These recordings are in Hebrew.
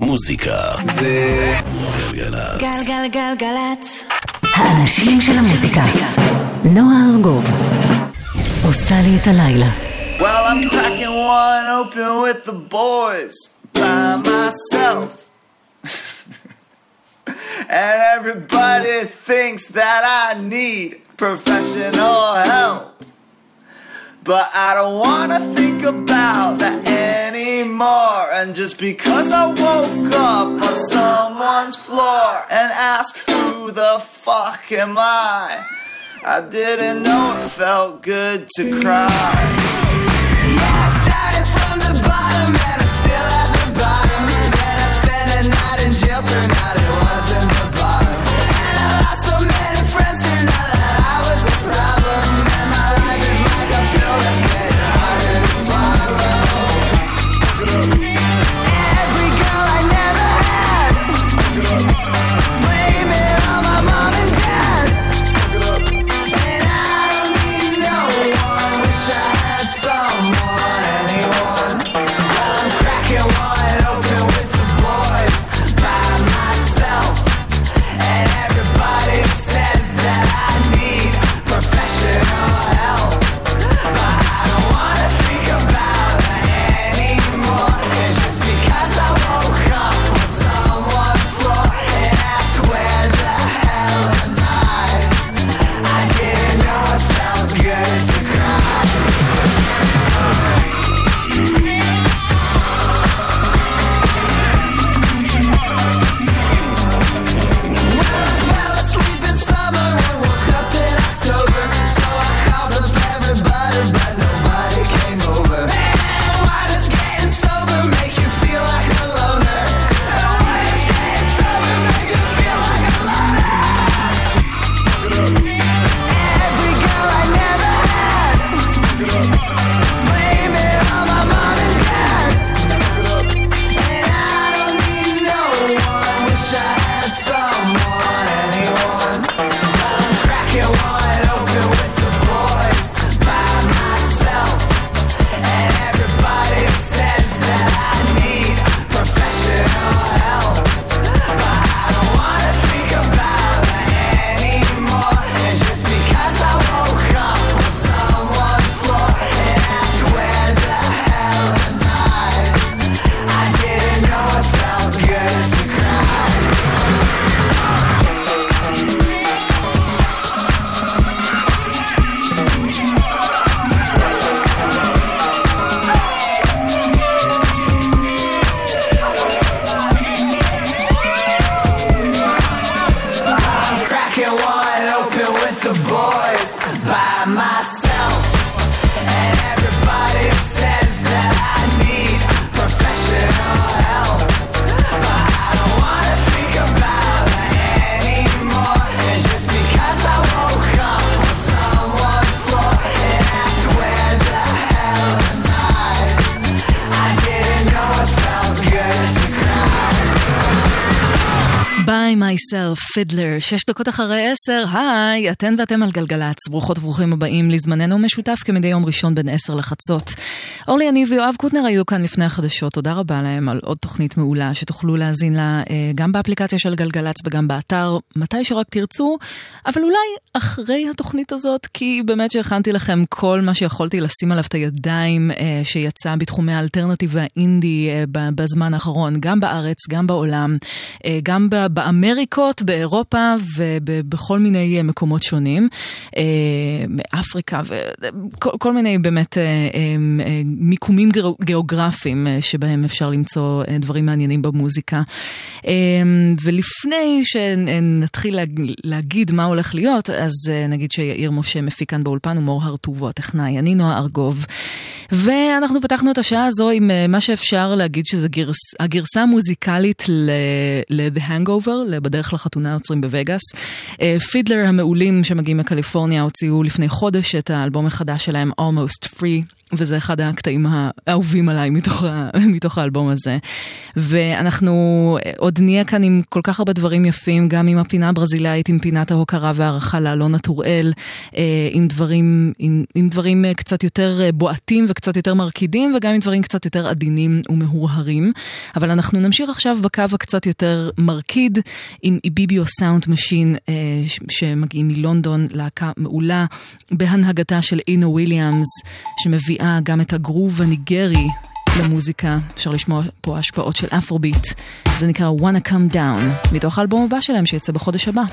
מוזיקה זה גלגלצ. גלגלגלגלצ. האנשים של המוזיקה. נועה ארגוב עושה לי את הלילה. Well, I'm cracking one open with the boys by myself. And everybody thinks that I need professional help. But I don't wanna think about that anymore. And just because I woke up on someone's floor and asked who the fuck am I didn't know it felt good to cry. Yeah, I started from the bottom and I'm still at the bottom. Then I spent a night in jail, turned out it wasn't the bottom. And I lost so many friends, turned out that I was the problem. And my life is like a pill that's getting harder to swallow. Every girl I never had, blame it on my mom and dad. And I don't need no one, wish I had someone, anyone. But I'm cracking one open with the boys by myself. And everybody says that I need professional help. But I don't wanna think about that anymore. It's just because I woke up on someone's floor and asked where the hell am I didn't know it felt good to cry. Fell asleep in summer and woke up in October. So I called up everybody, but nobody came over. And why does getting sober make you feel like a loner? And why does getting sober make you feel like a loner? Every girl I never had, blame it on my mom and dad. And I don't need no one, wish I had someone, anyone. But I'm cracking one open with the boys by myself. And everybody says that I need professional help. But I don't wanna think about that anymore. It's just because I woke up on someone's floor and asked where the hell am I didn't know it felt good to cry. I'm cracking one open with the boys by myself. And everybody says that I need professional help. But I don't wanna think about that anymore. It's just because I woke up on someone's floor and asked where the hell am I didn't know it felt good to cry. By myself, Fiddler, 6 דקות אחרי 10, היי, אתן ואתם על גלגלצ, ברוכות וברוכים הבאים לזמננו משותף כמדי יום ראשון בין 10 לחצות. אורלי, אני ויואב קוטנר היו כאן לפני החדשות, תודה רבה להם על עוד תוכנית מעולה שתוכלו להזין לה גם באפליקציה של גלגלצ וגם באתר, מתי שרק תרצו, אבל אולי אחרי התוכנית הזאת, כי באמת שהכנתי לכם כל מה שיכולתי לשים עליו את הידיים שיצא בתחומי האלטרנטיב והאינדי בזמן האחרון, גם בארץ, גם בעולם, גם באמריקות, באירופה ובכל מיני מקומות שונים, מאפריקה וכל מיני באמת מיקומים גיאוגרפיים שבהם אפשר למצוא דברים מעניינים במוזיקה. ולפני שנתחיל להגיד מה הולך להיות, אז נגיד שיאיר משה מפיק כאן באולפן ומור הרטובו הטכנאי. אני נועה ארגוב. ואנחנו פתחנו את השעה הזו עם מה שאפשר להגיד שזה הגרסה המוזיקלית ל-The Hangover, בדרך לחתונה יוצרים בווגאס. פידלר המעולים שמגיעים מקליפורניה הוציאו לפני חודש את האלבום החדש שלהם Almost Free. וזה אחד הקטעים האהובים עליי מתוך האלבום הזה. ואנחנו עוד נהיה כאן עם כל כך הרבה דברים יפים, גם עם הפינה הברזילאית, עם פינת ההוקרה והערכה לאלונה טוראל, עם דברים קצת יותר בועטים וקצת יותר מרקידים, וגם עם דברים קצת יותר עדינים ומהורהרים. אבל אנחנו נמשיך עכשיו בקו הקצת יותר מרקיד, עם איביביו סאונד משין, שמגיעים מלונדון, להקה מעולה, בהנהגתה של אינו וויליאמס, שמביאה גם את הגרוב הניגרי למוזיקה. אפשר לשמוע פה השפעות של אפרוביט. זה נקרא Wanna Come Down, מתוך האלבום הבא שלהם שיצא בחודש הבא.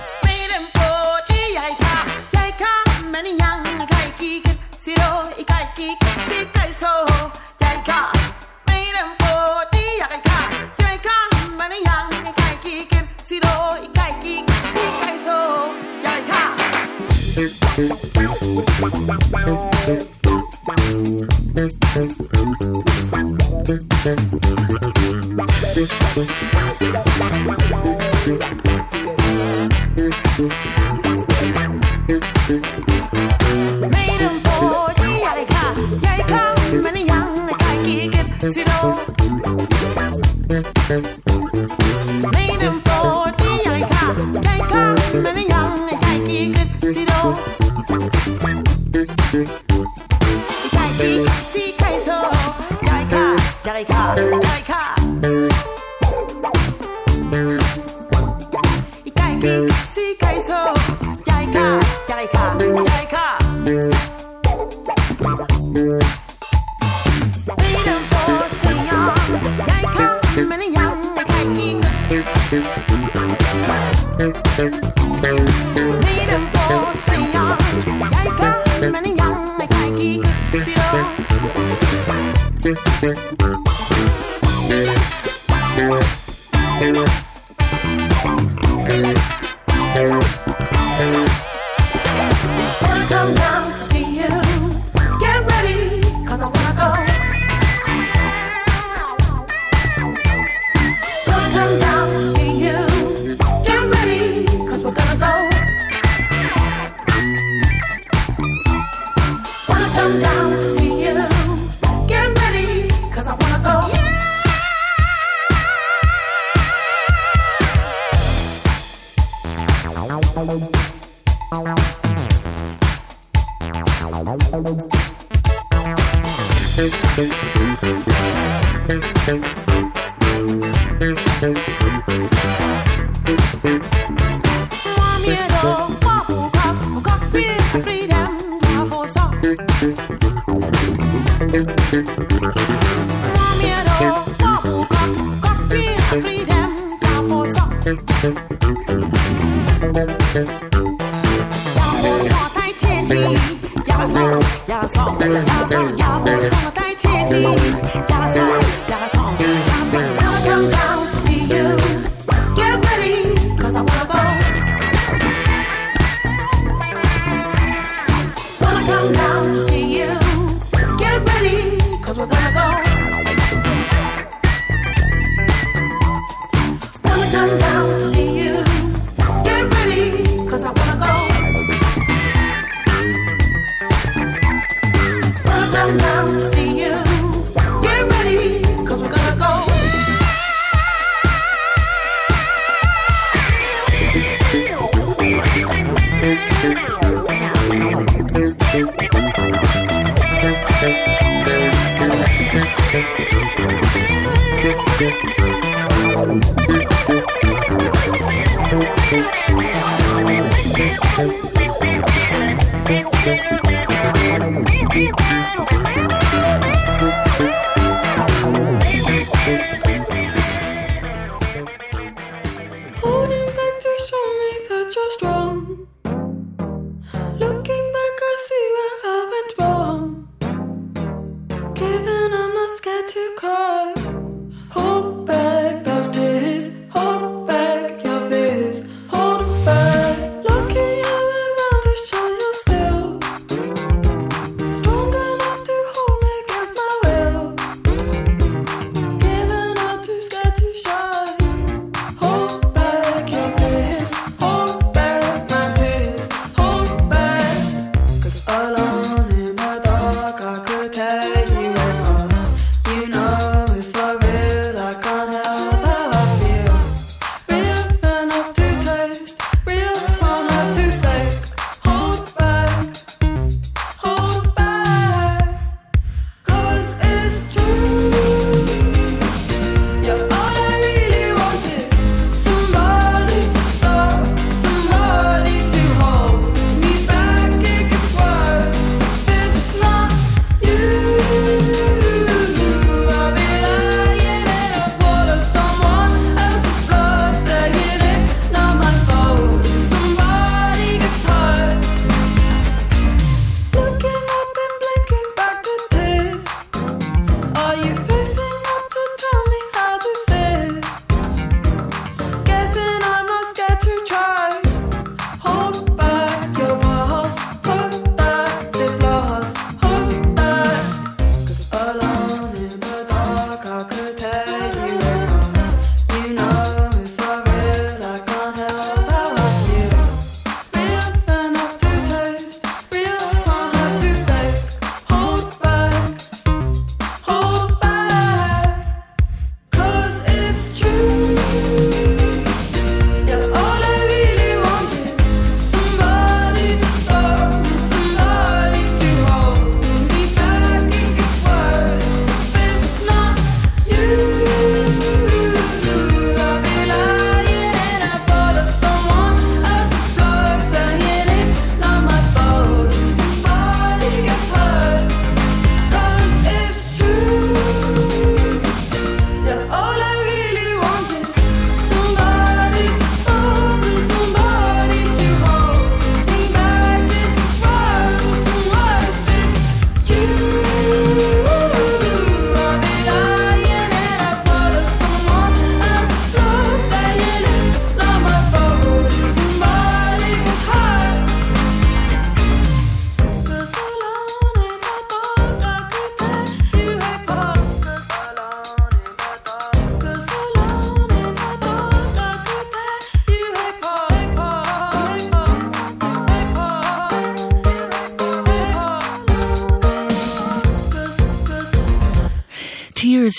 Given I'm not scared to cry, hold back those tears.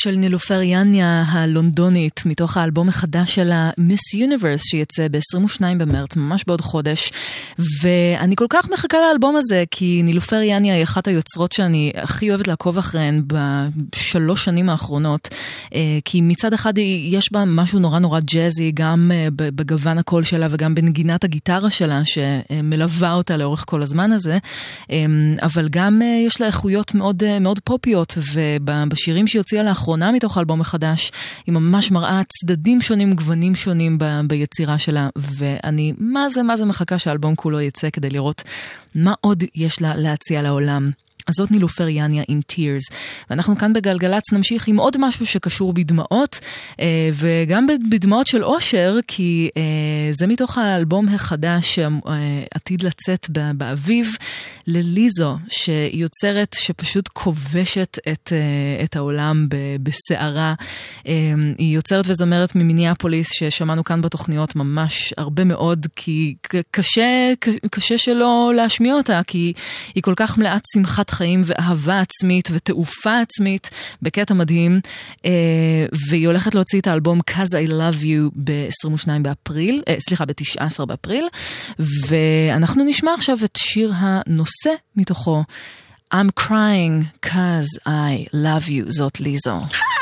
של נילופר יניה הלונדונית מתוך האלבום החדש שלה Miss Universe שיצא ב-22 במרץ, ממש בעוד חודש, ואני כל כך מחכה לאלבום הזה כי נילופר יניה היא אחת היוצרות שאני הכי אוהבת לעקוב אחריהן בשלוש שנים האחרונות, כי מצד אחד יש בה משהו נורא נורא ג'אזי גם בגוון הקול שלה וגם בנגינת הגיטרה שלה שמלווה אותה לאורך כל הזמן הזה, אבל גם יש לה איכויות מאוד, מאוד פופיות, ובשירים שהיא הוציאה לאחרונה מתוך האלבום החדש, היא ממש מראה צדדים שונים, גוונים שונים ביצירה שלה, ואני מה זה מחכה שהאלבום כולו יצא כדי לראות מה עוד יש לה להציע לעולם. אז זאת נילופר יניה עם Tears. ואנחנו כאן בגלגלץ נמשיך עם עוד משהו שקשור בדמעות, וגם בדמעות של אושר, כי זה מתוך האלבום החדש שעתיד לצאת באביב, לליזו, שהיא יוצרת שפשוט כובשת את העולם בסערה. היא יוצרת וזמרת ממיניאפוליס, ששמענו כאן בתוכניות ממש הרבה מאוד, כי קשה שלא להשמיע אותה, כי היא כל כך מלאת שמחת חיים ואהבה עצמית ותעופה עצמית בקטע מדהים, והיא הולכת להוציא את האלבום Cause I Love You ב-19 באפריל, ואנחנו נשמע עכשיו את שיר הנושא מתוכו, I'm crying cause I love you, זאת ליזו.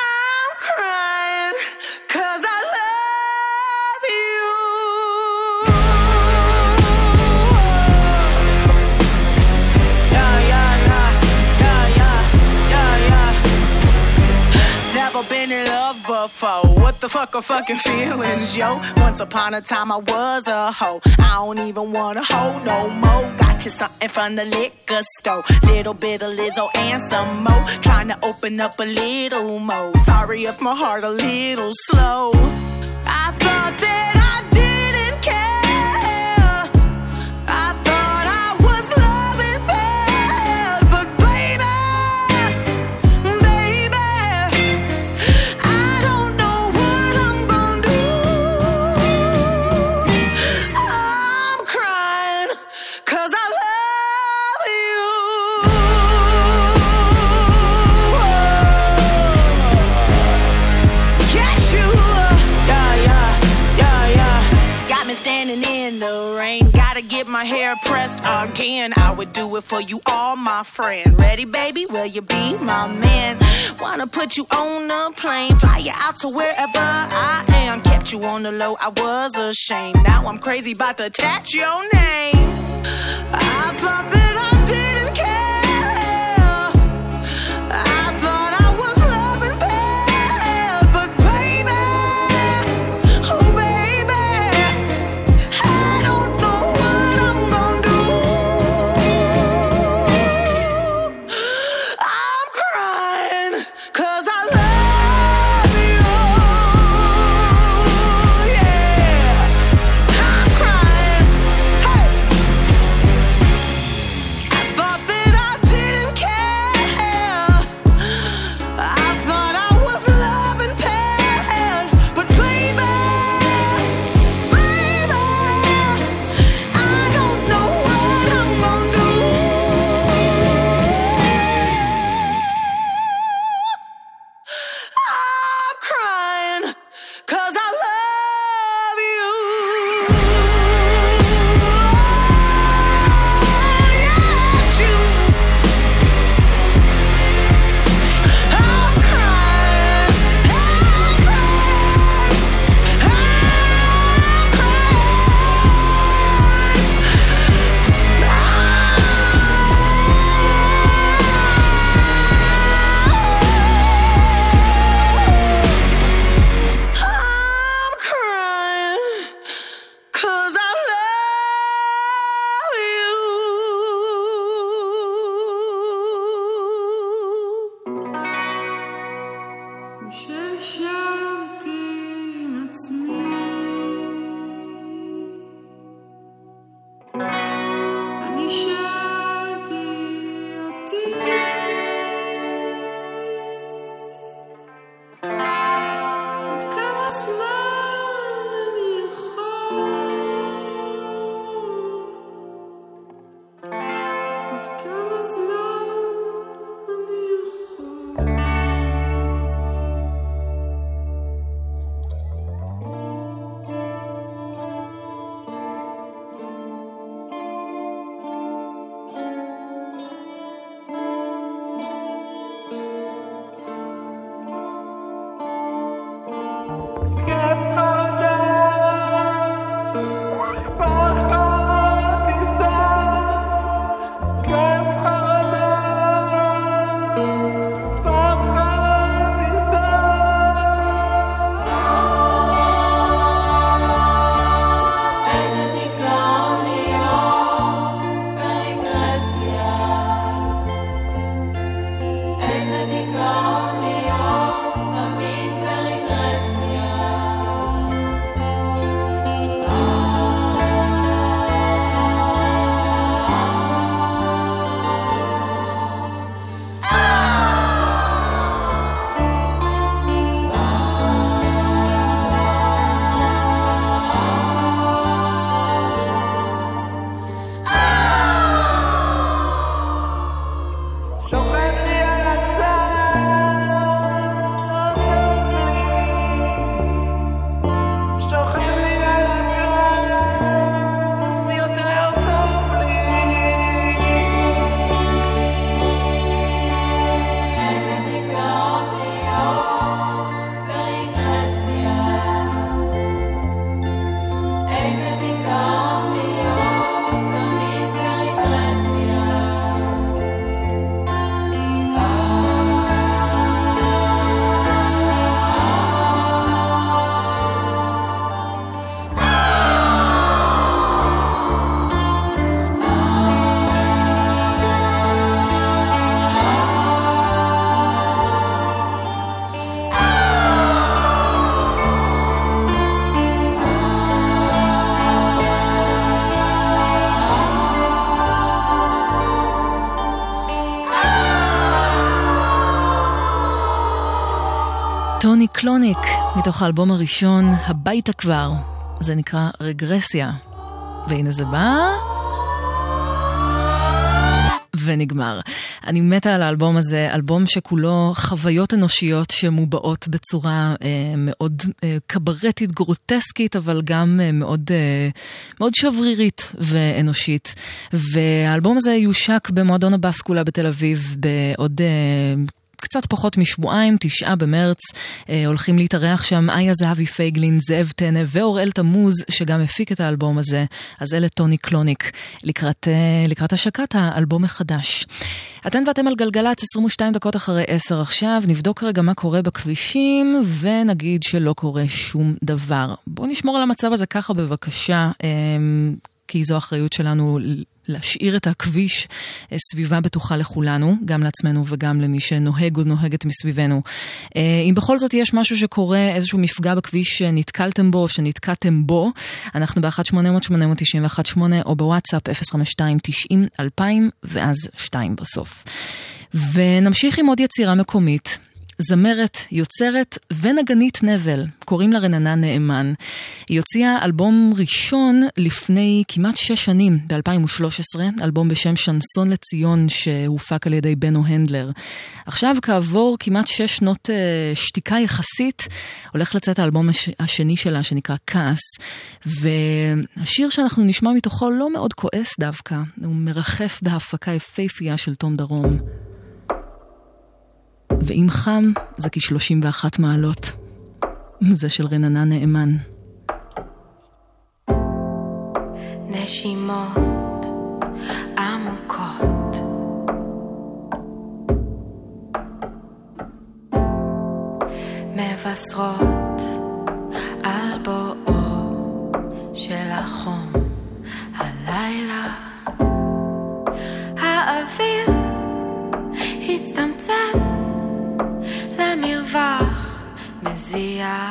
Been in love before. What the fuck are fucking feelings, yo? Once upon a time I was a hoe. I don't even wanna hoe no more. Got you something from the liquor store. Little bit of Lizzo and some more. Trying to open up a little more. Sorry if my heart a little slow. I thought that I didn't care. I thought I was loving bad, but baby, my hair pressed again. I would do it for you, all my friend. Ready, baby? Will you be my man? Wanna put you on a plane, fly you out to wherever I am. Kept you on the low, I was ashamed. Now I'm crazy about to attach your name. I thought that I didn't care. I thought I was loving bad, but baby, oh baby, I don't know what I'm gonna do. I'm crying 'cause I love you. Yeah, I'm crying. Hey, I thought that I didn't care. I thought I was loving bad, but baby, I don't know what I'm gonna do. I'm crying 'cause I love you. Yes, you. I'm crying. I'm crying. I'm crying 'cause I love you. ששבתי עם עצמי, אני שאלתי אותי, עוד כמה זמן אני יכול, עוד כמה זמן אני יכול. טוני קלוניק, מתוך האלבום הראשון, הביתה כבר. זה נקרא רגרסיה. והנה זה בא ונגמר. אני מתה על האלבום הזה, אלבום שכולו חוויות אנושיות שמובעות בצורה מאוד קברטית, גרוטסקית, אבל גם מאוד, מאוד שברירית ואנושית. והאלבום הזה יושק במועדון הבאסקולה בתל אביב בעוד קצת פחות משבועיים, 9 במרץ, הולכים להתארח שם איה זהבי פייגלין, זאב טנא ואוראל תמוז, שגם הפיק את האלבום הזה. אז אלה טוני קלוניק, לקראת השקת האלבום החדש. אתן ואתם על גלגלץ, 22 דקות אחרי 10 עכשיו, נבדוק רגע מה קורה בכבישים, ונגיד שלא קורה שום דבר. בואו נשמור על המצב הזה ככה בבקשה, כי זו האחריות שלנו להשאיר את הכביש סביבה בטוחה לכולנו, גם לעצמנו וגם למי שנוהג או נוהגת מסביבנו. אם בכל זאת יש משהו שקורה, איזשהו מפגע בכביש שנתקלתם בו או שנתקעתם בו, אנחנו ב-1-800-891-8 או בוואטסאפ 052-90-2000 ואז 2 בסוף. ונמשיך עם עוד יצירה מקומית. זמרת, יוצרת ונגנית נבל, קוראים לה רננה נאמן. היא הוציאה אלבום ראשון לפני כמעט 6 שנים, ב-2013, אלבום בשם שנסון לציון שהופק על ידי בנו הנדלר. עכשיו כעבור כמעט 6 שנות שתיקה יחסית, הולך לצאת האלבום השני שלה שנקרא כעס, והשיר שאנחנו נשמע מתוכו לא מאוד כועס דווקא, הוא מרחף בהפקה יפהפייה של תום דרום. ואם חם, זה כ-31 מעלות. זה של רננה נאמן. נשימות עמוקות מבשרות על בואו של החום הלילה. האוויר הצטמצם למרווח מזיע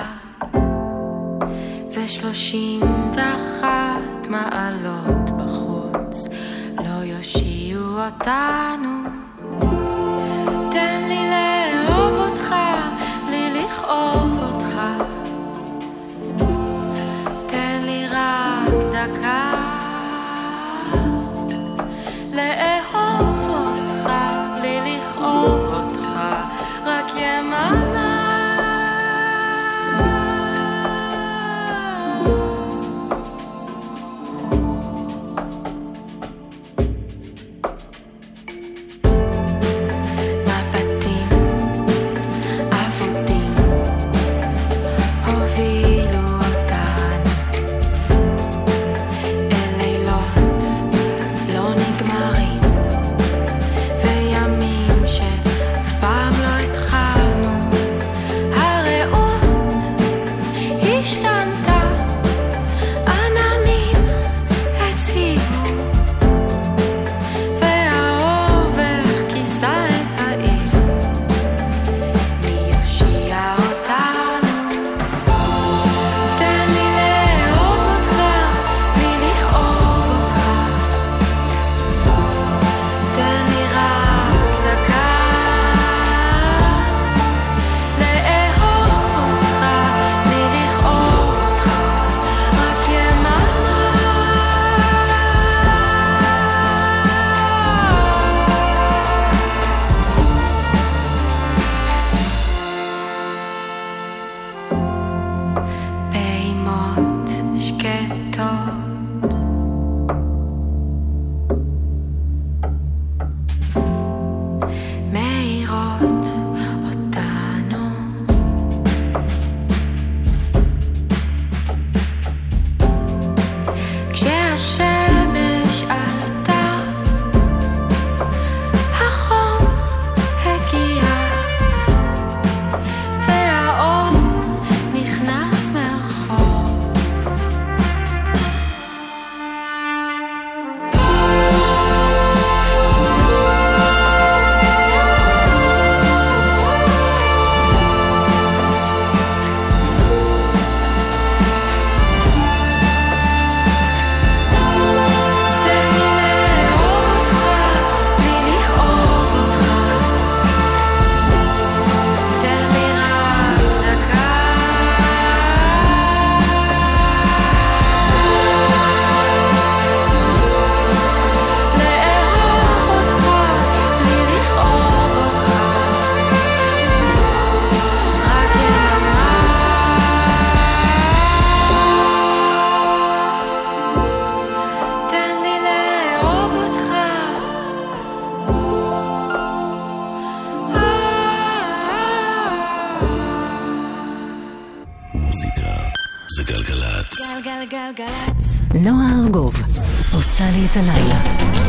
ו31 מעלות בחוץ לא יושיעו אותנו. תן לי לאהוב אותך בלי לכאוב אותך, תן לי רק דקה לאהוב אותך בלי לכאוב אותך, רק יממה. המוזיקה זה גלגלצ. גלגלגלגלצ. נועה ארגוב עושה לי את הלילה.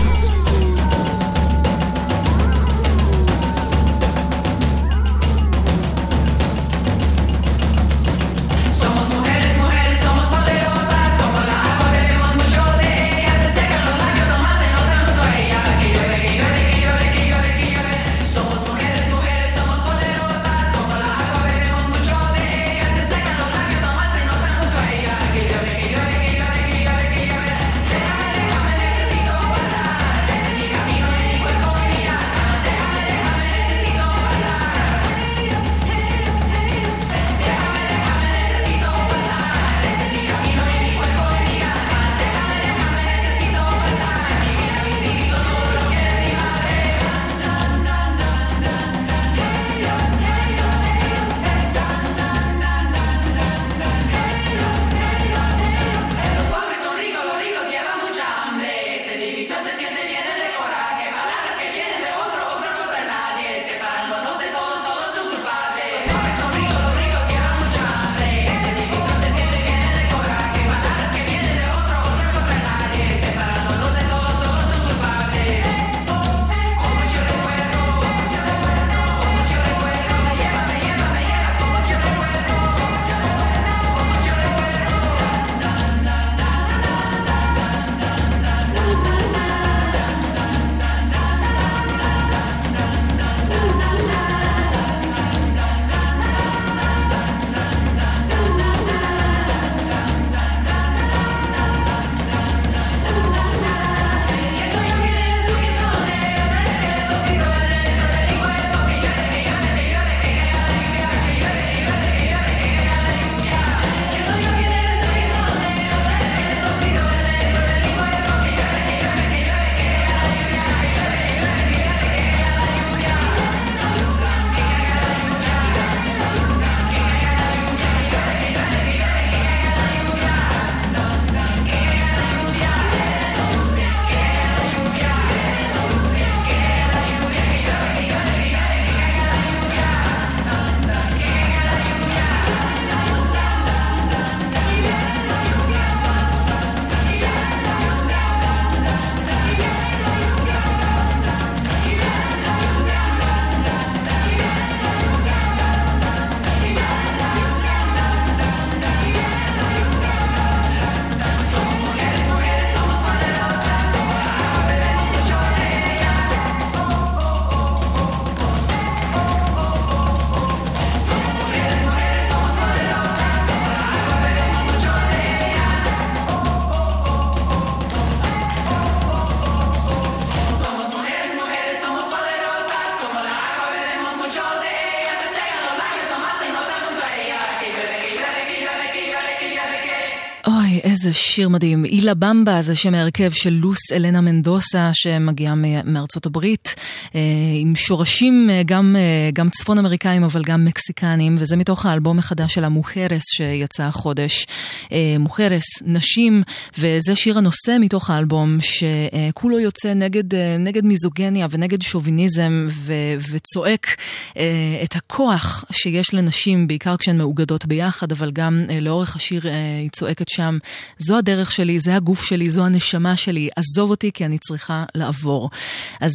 איזה שיר מדהים. אילה במבה זה שם ההרכב של לוס אלנה מנדוסה שמגיעה מארצות הברית, עם שורשים גם צפון אמריקאים אבל גם מקסיקנים, וזה מתוך האלבום החדש של המוחרס שיצא החודש. מוחרס, נשים, וזה שיר הנושא מתוך האלבום שכולו יוצא נגד מיזוגניה ונגד שוביניזם וצועק את הכוח שיש לנשים, בעיקר כשהן מאוגדות ביחד, אבל גם לאורך השיר היא צועקת שם, זו הדרך שלי, זה הגוף שלי, זו הנשמה שלי, עזוב אותי כי אני צריכה לעבור. אז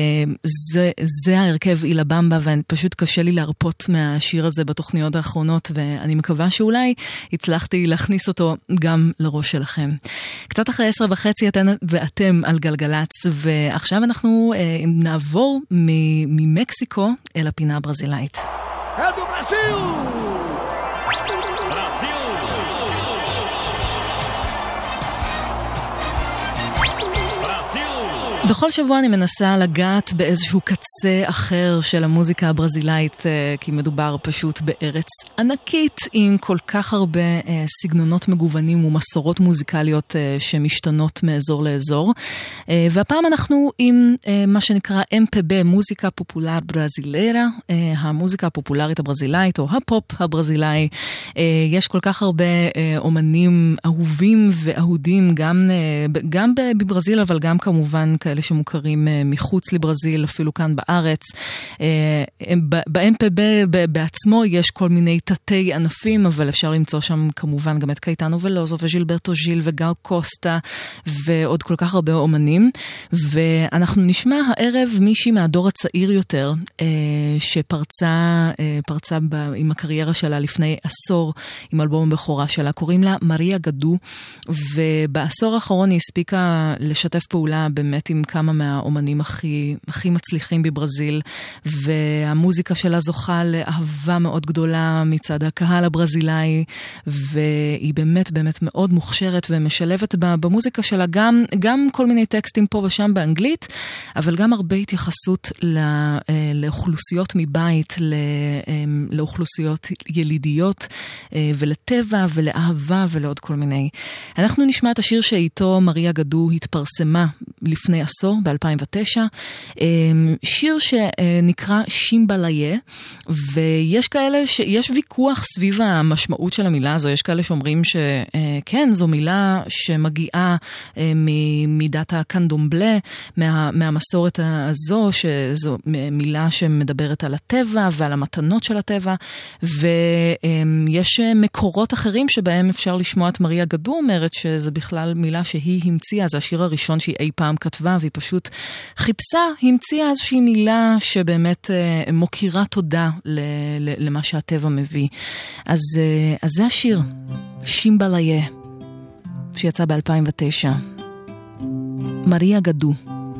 זה ההרכב אילה במבה, ופשוט קשה לי להרפות מהשיר הזה בתוכניות האחרונות, ואני מקווה שאולי הצלחתי להכניס אותו גם לראש שלכם. קצת אחרי 10:30 ואתם על גלגלץ, ועכשיו אנחנו נעבור ממקסיקו אל הפינה הברזילאית. אדו ברזיל! בכל שבוע אני מנסה לגעת באיזשהו קצה אחר של המוזיקה הברזילאית, כי מדובר פשוט בארץ ענקית עם כל כך הרבה סגנונות מגוונים ומסורות מוזיקליות שמשתנות מאזור לאזור. והפעם אנחנו עם מה שנקרא MPB, מוזיקה פופולר ברזילרה, המוזיקה הפופולרית הברזילאית או הפופ הברזילאי. יש כל כך הרבה אומנים אהובים ואהודים, גם בברזיל, אבל גם כמובן כאלה כאלה שמוכרים מחוץ לברזיל, אפילו כאן בארץ. ב-MPB בעצמו יש כל מיני תתי ענפים, אבל אפשר למצוא שם כמובן גם את קייטנו ולוזו וז'ילברטו ז'יל וגאו קוסטה, ועוד כל כך הרבה אומנים. ואנחנו נשמע הערב מישהי מהדור הצעיר יותר, שפרצה עם הקריירה שלה לפני עשור, עם אלבום הבכורה שלה, קוראים לה מריה גדו, ובעשור האחרון היא הספיקה לשתף פעולה באמת עם כמה מהאומנים הכי מצליחים בברזיל, והמוזיקה שלה זוכה לאהבה מאוד גדולה מצד הקהל הברזילאי, והיא באמת באמת מאוד מוכשרת ומשלבת במוזיקה שלה גם כל מיני טקסטים פה ושם באנגלית, אבל גם הרבה התייחסות לאוכלוסיות מבית, לאוכלוסיות ילידיות ולטבע ולאהבה ולעוד כל מיני. אנחנו נשמע את השיר שאיתו מריה גדו התפרסמה לפני עשור, ב-2009, שיר שנקרא שימבליה, ויש כאלה יש ויכוח סביב המשמעות של המילה הזו, יש כאלה שאומרים שכן, זו מילה שמגיעה ממידת הקנדומבלה, מהמסורת הזו, שזו מילה שמדברת על הטבע ועל המתנות של הטבע, ויש מקורות אחרים שבהם אפשר לשמוע את מריה גדו אומרת שזה בכלל מילה שהיא המציאה, זה השיר הראשון שהיא אי פעם כתבה, והיא פשוט חיפשה, המציאה איזושהי מילה שבאמת מוקירה תודה למה שהטבע מביא. אז זה השיר, שימבליה, שיצא ב-2009. מריה גדו.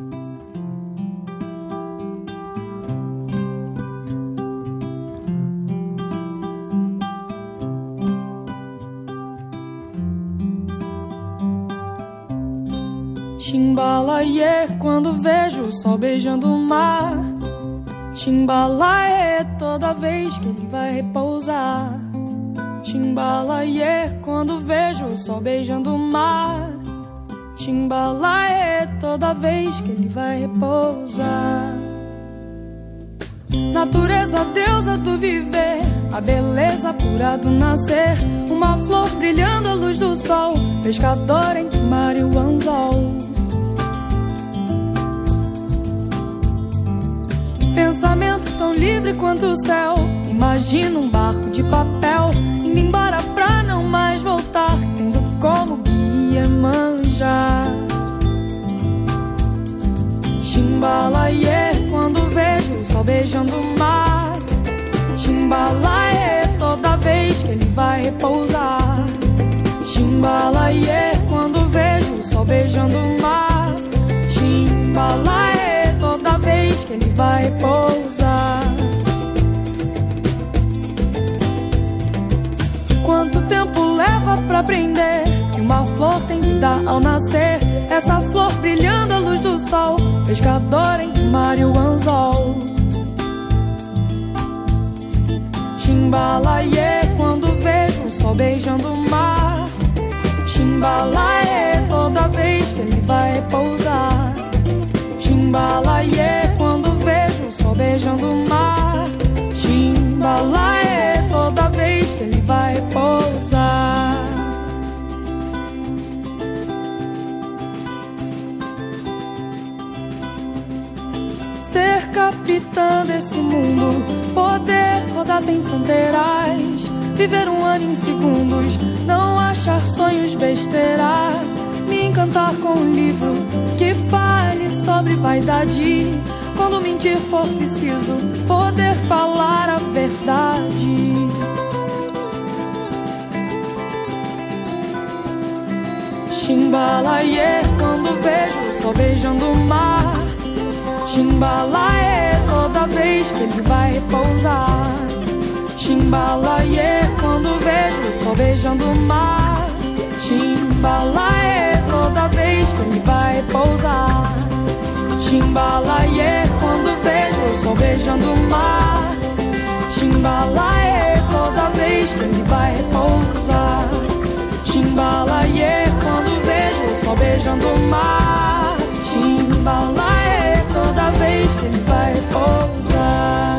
Chimbalaie, quando vejo o sol beijando o mar. Chimbalaie, toda vez que ele vai repousar. Chimbalaie, quando vejo o sol beijando o mar. Chimbalaie, toda vez que ele vai repousar. Natureza, deusa do viver, a beleza pura do nascer. Uma flor brilhando à luz do sol, pescador entre o mar e o anzol. Pensamento tão livre quanto o céu. Imagina um barco de papel indo embora pra não mais voltar, tendo como guia manjar. Chimbalaie, quando vejo o sol beijando o mar. Chimbalaie, toda vez que ele vai repousar. Chimbalaie, quando vejo o sol beijando o mar. Chimbalaie, toda vez que ele vai pousar. Quanto tempo leva pra aprender que uma flor tem vida ao nascer? Essa flor brilhando à luz do sol, pescador entre o mar e o anzol. Chimbalaie, quando vejo o sol beijando o mar. Chimbalaie, toda vez que ele vai pousar. Chimbalaie, quando vejo o sol beijando o mar. Chimbalaie, toda vez que ele vai pousar. Ser capitã desse mundo, poder rodar sem fronteiras, viver um ano em segundos, não achar sonhos besteira. Me encantar com um livro que fale sobre vaidade. Quando mentir for preciso, poder falar a verdade. Chimbalaie, quando vejo o sol beijando o mar. Chimbalaie, toda vez que ele vai repousar. Chimbalaie, quando vejo o sol beijando o mar. Chimbalaie, toda vez que ele vai pousar. Chimbalaie, quando vejo o sol beijando o mar. Chimbalaie, toda vez que ele vai pousar. Chimbalaie, quando vejo o sol beijando o mar. Chimbalaie, toda vez que ele vai pousar.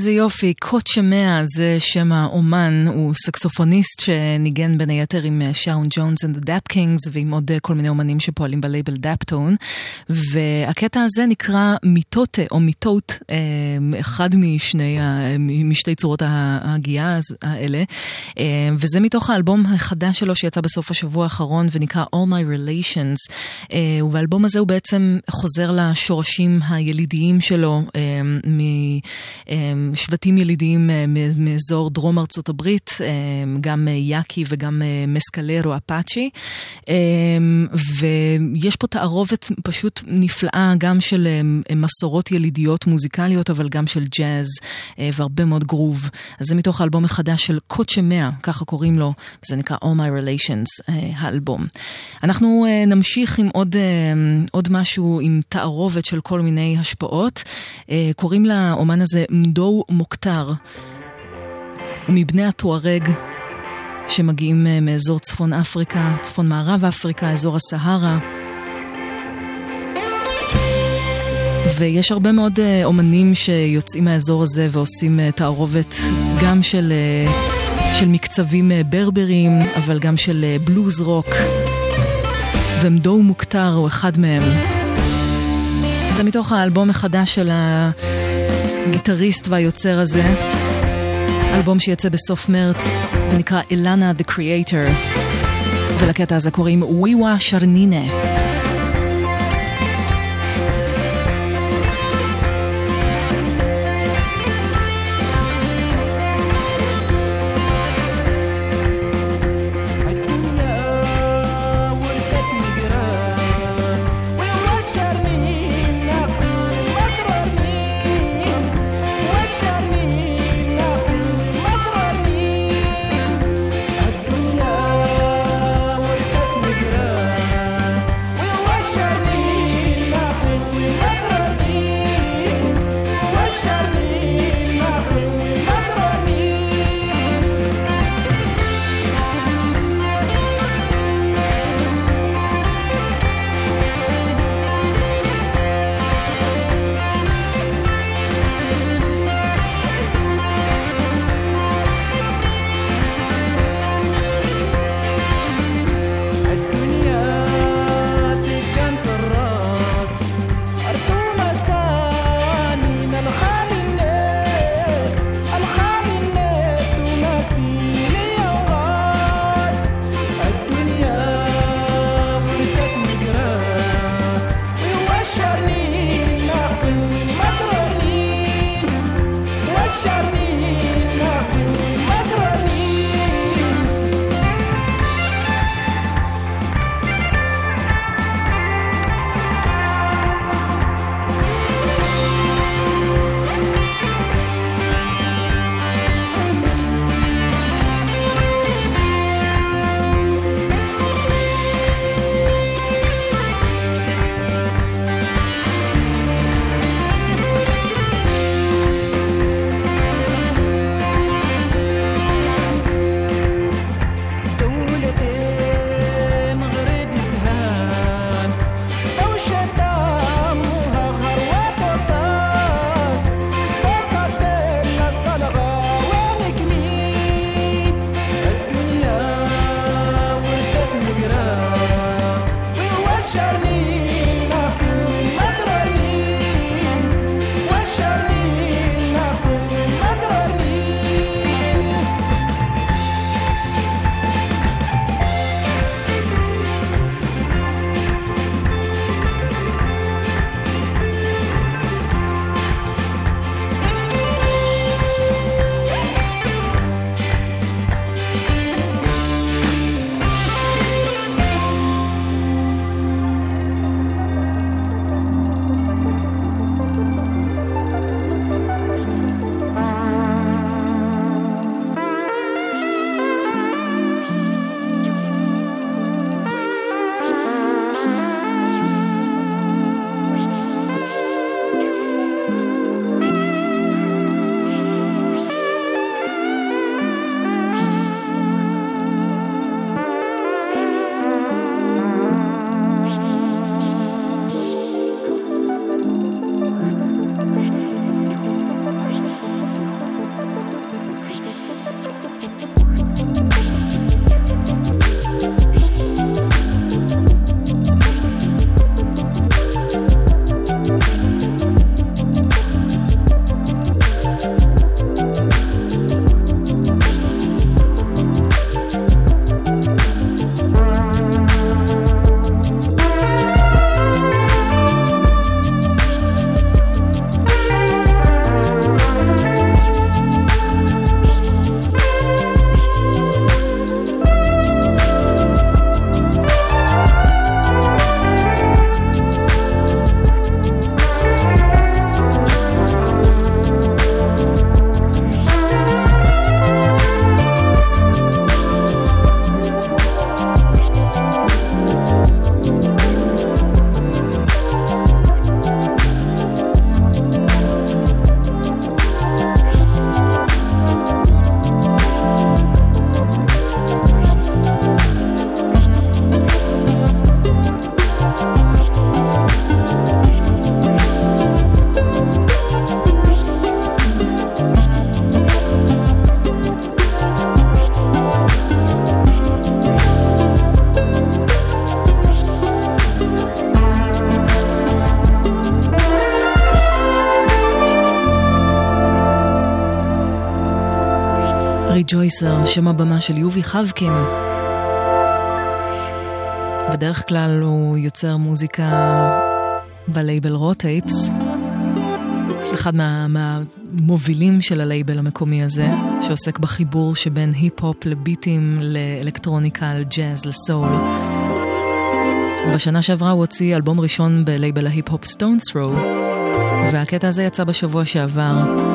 איזה יופי, קוצ'מאה זה שם האומן, הוא סקסופוניסט שניגן בין היתר עם שאון ג'ונס and the Dap Kings ועם עוד כל מיני אומנים שפועלים בלייבל דאפטון, והקטע הזה נקרא מיטוטה או מיטוט, אחד משתי צורות ההגיעה האלה, וזה מתוך האלבום החדש שלו שיצא בסוף השבוע האחרון ונקרא All My Relations, ובאלבום הזה הוא בעצם חוזר לשורשים הילידיים שלו משבטים ילידיים מאזור דרום ארצות הברית, גם יאקי וגם מסקלרו אפאצ'י, ויש פה תערובת פשוט נפלאה גם של מסורות ילידיות מוזיקליות, אבל גם של ג'אז והרבה מאוד גרוב. אז זה מתוך האלבום החדש של קוצ'מאה, ככה קוראים לו, וזה נקרא All My Relations, האלבום. אנחנו נמשיך עם עוד משהו עם תערובת של כל מיני השפעות. קוראים לאומן הזה מדו מוקטר, מבני הטוארג שמגיעים מאזור צפון אפריקה, צפון מערב אפריקה, אזור הסהרה. ויש הרבה מאוד אומנים שיוצאים מהאזור הזה ועושים תערובת גם של מקצבים ברברים, אבל גם של בלוז רוק, ומדו מוקטר הוא אחד מהם. זה מתוך האלבום החדש של הגיטריסט והיוצר הזה, אלבום שיצא בסוף מרץ ונקרא אלנה the Creator, ולקטע הזה קוראים וויווה שרנינה. We ריג'ויסר, שם הבמה של יובי חבקין. בדרך כלל הוא יוצר מוזיקה בלייבל רוטייפס, אחד מהמובילים של הלייבל המקומי הזה, שעוסק בחיבור שבין היפ-הופ לביטים, לאלקטרוניקה, לג'אז, לסול. בשנה שעברה הוא הוציא אלבום ראשון בלייבל ההיפ-הופ סטונס ת'רו, והקטע הזה יצא בשבוע שעבר.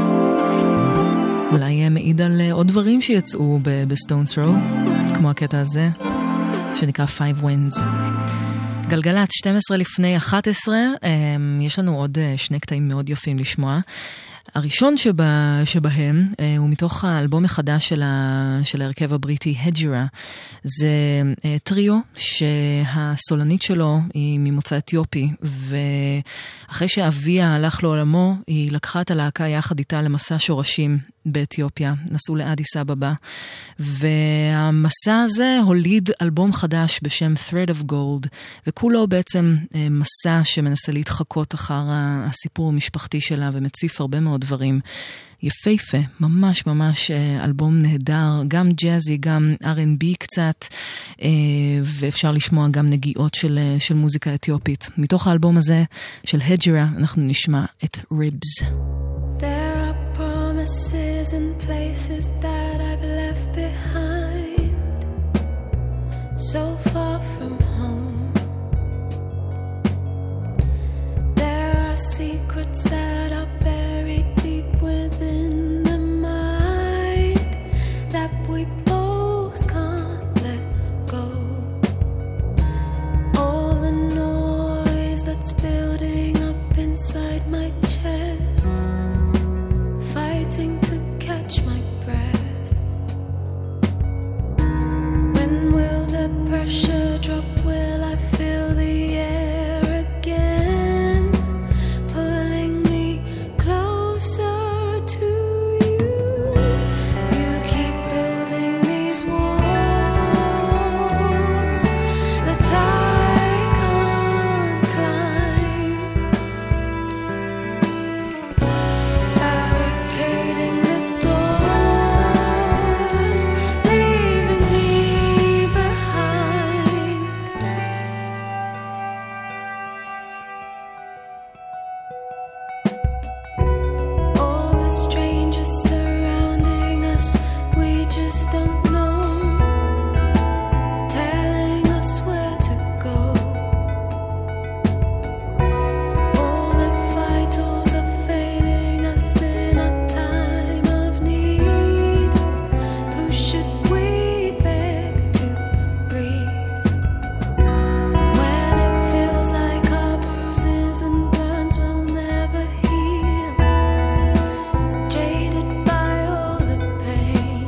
אולי מעיד על עוד דברים שיצאו בסטונס ת'רו, כמו הקטע הזה, שנקרא Five Winds. גלגלת 12 לפני 11, יש לנו עוד שני קטעים מאוד יפים לשמוע. הראשון שבהם הוא מתוך האלבום החדש של ההרכב הבריטי הג'ירה. זה טריו שהסולנית שלו היא ממוצא אתיופי, ואחרי שאביה הלך לעולמו היא לקחה את הלהקה יחד איתה למסע שורשים באתיופיה, נסעו לאדיס אבבה, והמסע הזה הוליד אלבום חדש בשם Thread of Gold, וכולו בעצם מסע שמנסה להתחקות אחר הסיפור המשפחתי שלה ומציף הרבה מאוד דברים. יפהפה, ממש ממש אלבום נהדר, גם ג'אזי, גם R&B קצת, ואפשר לשמוע גם נגיעות של מוזיקה אתיופית. מתוך האלבום הזה של הג'ירה אנחנו נשמע את Ribs. There are promises and places that I've left behind, so far from home. There are secrets that are buried deep within the mind that we both can't let go. All the noise that's building up inside my chest, fighting to catch my breath. When will the pressure drop? Will I feel the air again, pulling me closer to you? You keep building these walls that I can't climb, barricading the doors, leaving me behind. All the strangers surrounding us, we just don't know, telling us where to go. All the vitals are failing us in a time of need. Who should we beg to breathe? When it feels like our bruises and burns will never heal, jaded by all the pain,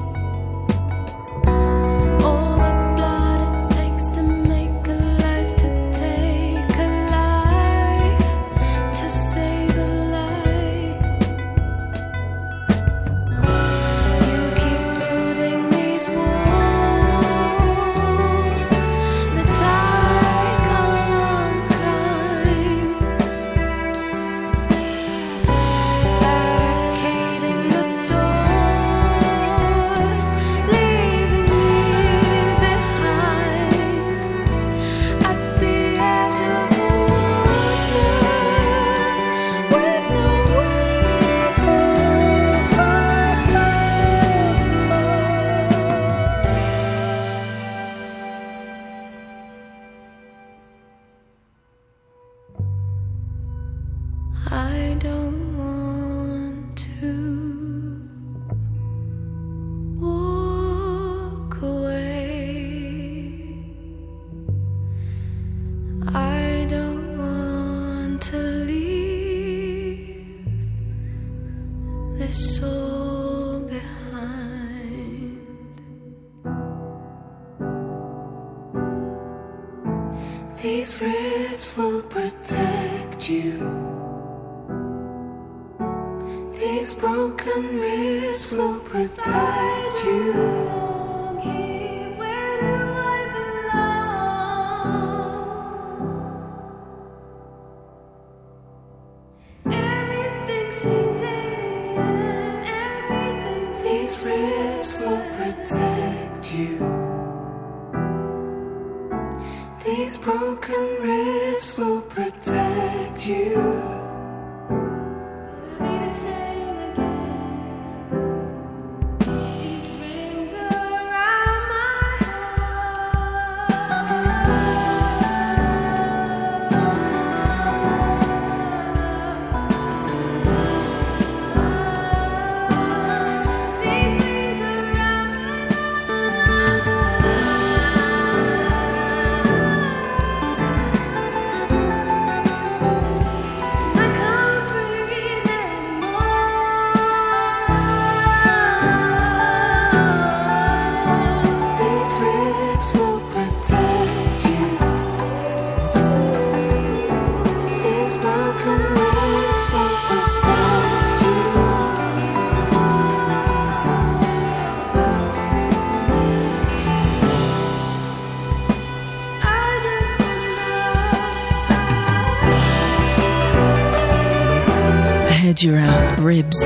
all the blood it takes to make a life, to take a life, to save a life. You keep building these walls that I can't climb, barricading the doors, leaving me behind at the edge of the water, with no way to cross the floor. I don't want to walk away. I don't want to leave this soul behind. These ribs will protect you. These broken ribs will protect you. Where do I belong? Everything seems alien. Everything. These ribs These broken ribs will protect you. It'll be the same again. These rings around my Hedgera, Ribs.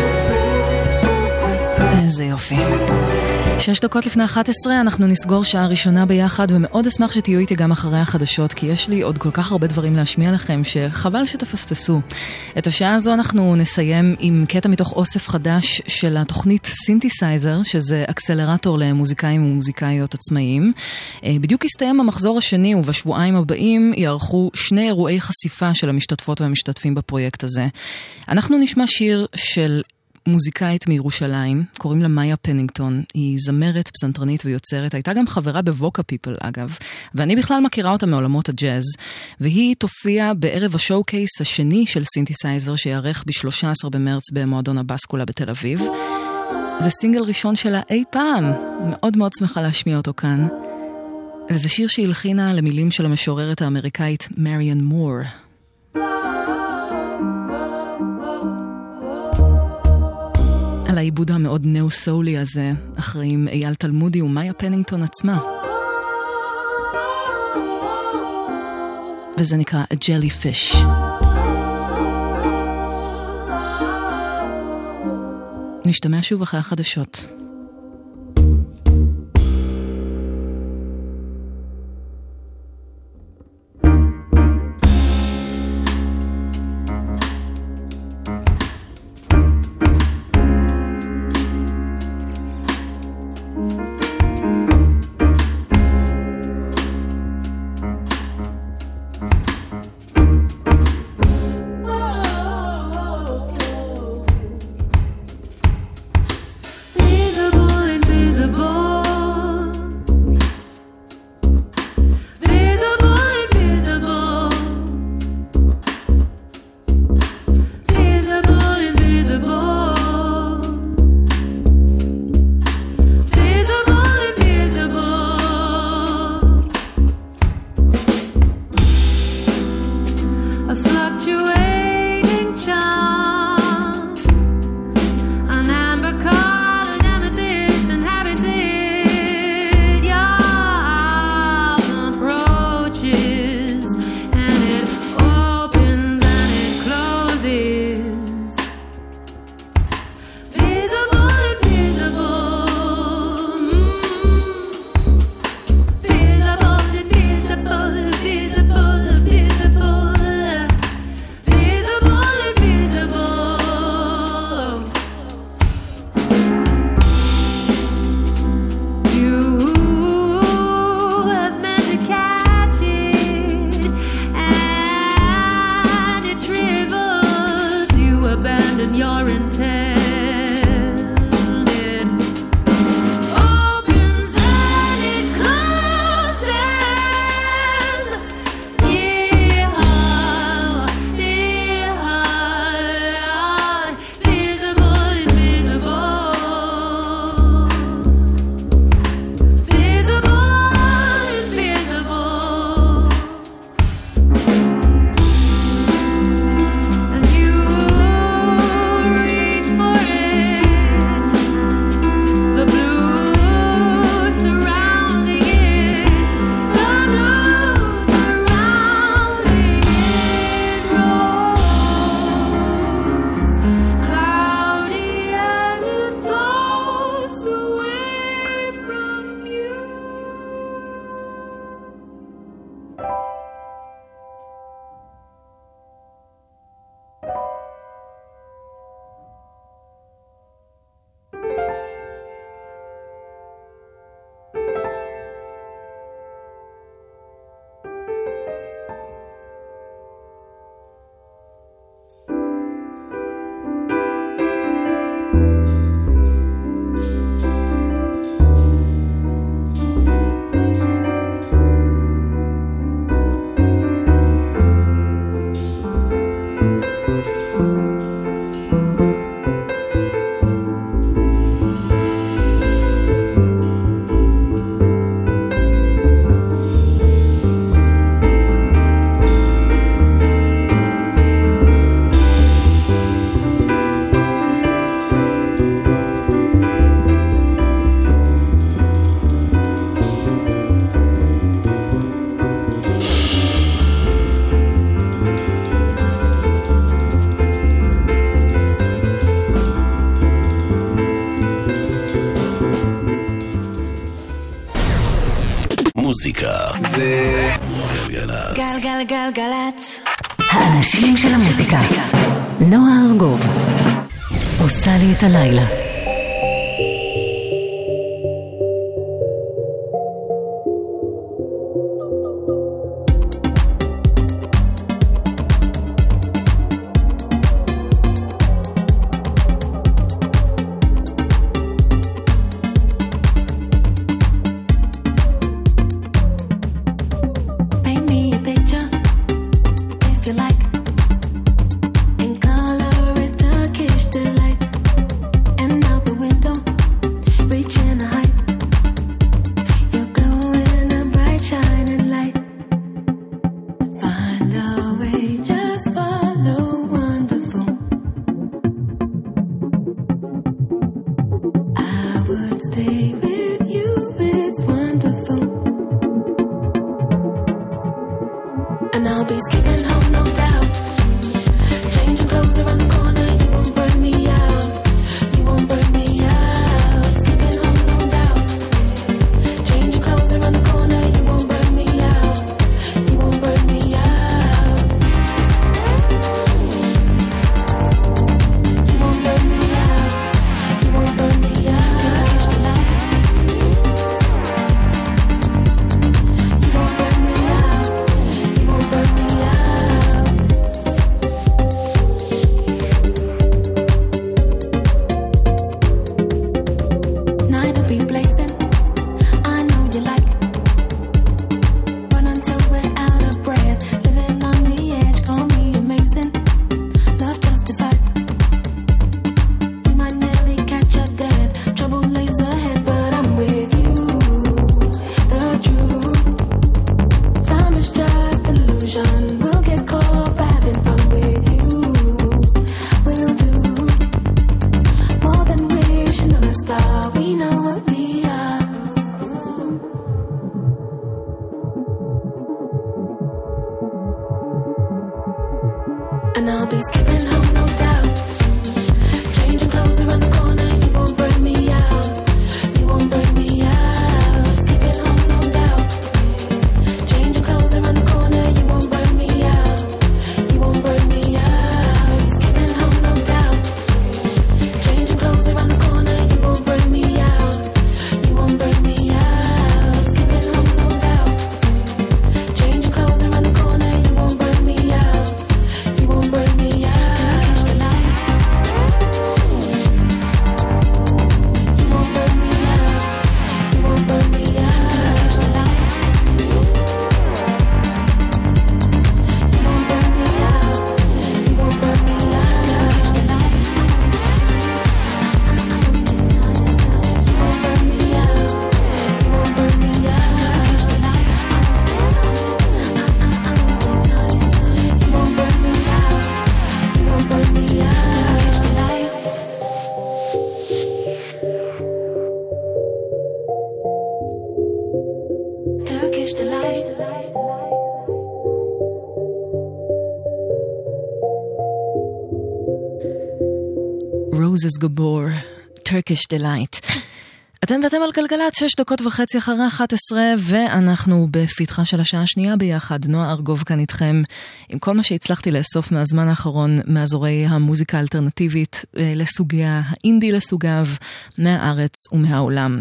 איזה יופי. 6 דקות לפני 11 אנחנו נסגור שעה ראשונה ביחד, ומאוד אשמח שתהיו איתי גם אחרי החדשות, כי יש לי עוד כל כך הרבה דברים להשמיע לכם שחבל שתפספסו. את השעה הזו אנחנו נסיים עם קטע מתוך אוסף חדש של התוכנית סינתסייזר, שזה אקסלרטור למוזיקאים ומוזיקאיות עצמאיים. בדיוק הסתיים המחזור השני, ובשבועיים הבאים יערכו 2 אירועי חשיפה של המשתתפות והמשתתפים בפרויקט הזה. אנחנו נשמע שיר של מוזיקאית מירושלים, קוראים לה מאיה פנינגטון, היא זמרת, פסנתרנית ויוצרת, הייתה גם חברה בווקה פיפל אגב, ואני בכלל מכירה אותה מעולמות הג'אז, והיא תופיע בערב השואו-קייס השני של סינתסייזר, שיערך ב-13 במרץ במועדון הבאסקולה בתל אביב. זה סינגל ראשון שלה אי פעם, מאוד מאוד שמחה להשמיע אותו כאן, וזה שיר שהלחינה למילים של המשוררת האמריקאית מריאן מור. על העיבוד המאוד נאו-סולי הזה, אחראים אייל תלמודי ומאיה פנינגטון עצמה. וזה נקרא A Jellyfish. נשתמע שוב אחרי החדשות. These מוזיקה זה גלגלצ. גלגלגלגלצ. האנשים של המוזיקה. נועה ארגוב עושה לי את הלילה. Roses Gabor, Turkish Delight. אתם ואתם על גלגלת 6:30 אחרי 11, ואנחנו בפתחה של השעה השנייה ביחד. נועה ארגוב כאן איתכם עם כל מה שהצלחתי לאסוף מהזמן האחרון מאזורי המוזיקה האלטרנטיבית לסוגיה, האינדי לסוגיו, מהארץ ומהעולם.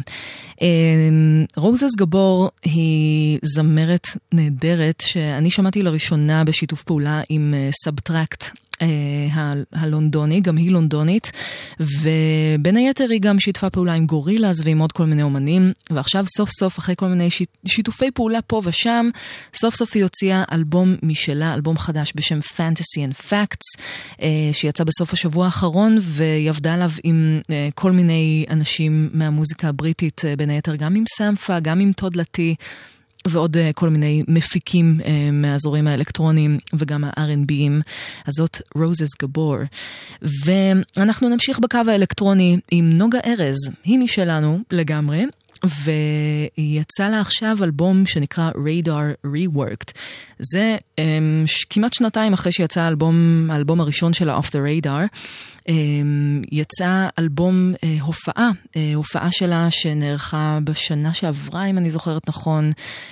רוזס גבור היא זמרת נהדרת שאני שמעתי לראשונה בשיתוף פעולה עם סאבטרקט הלונדוני, גם היא לונדונית, ובין היתר היא גם שיתפה פעולה עם גורילאז ועם עוד כל מיני אומנים, ועכשיו סוף סוף אחרי כל מיני שיתופי פעולה פה ושם, סוף סוף היא הוציאה אלבום משלה, אלבום חדש בשם Fantasy and Facts, שיצא בסוף השבוע האחרון, והיא עבדה עליו עם כל מיני אנשים מהמוזיקה הבריטית, בין היתר גם עם סמפה, גם עם טוד לטי, ועוד כל מיני מפיקים מהאזורים האלקטרוניים וגם ה-R&B'ים. אז זאת רוזס גבור. ואנחנו נמשיך בקו האלקטרוני עם נוגה ארז. היא משלנו לגמרי, והיא יצאה לה עכשיו אלבום שנקרא Radar Reworked. זה כמעט שנתיים אחרי שיצא האלבום הראשון שלה Off the Radar, יצא אלבום הופעה שלה שנערכה בשנה שעברה, אם אני זוכרת נכון,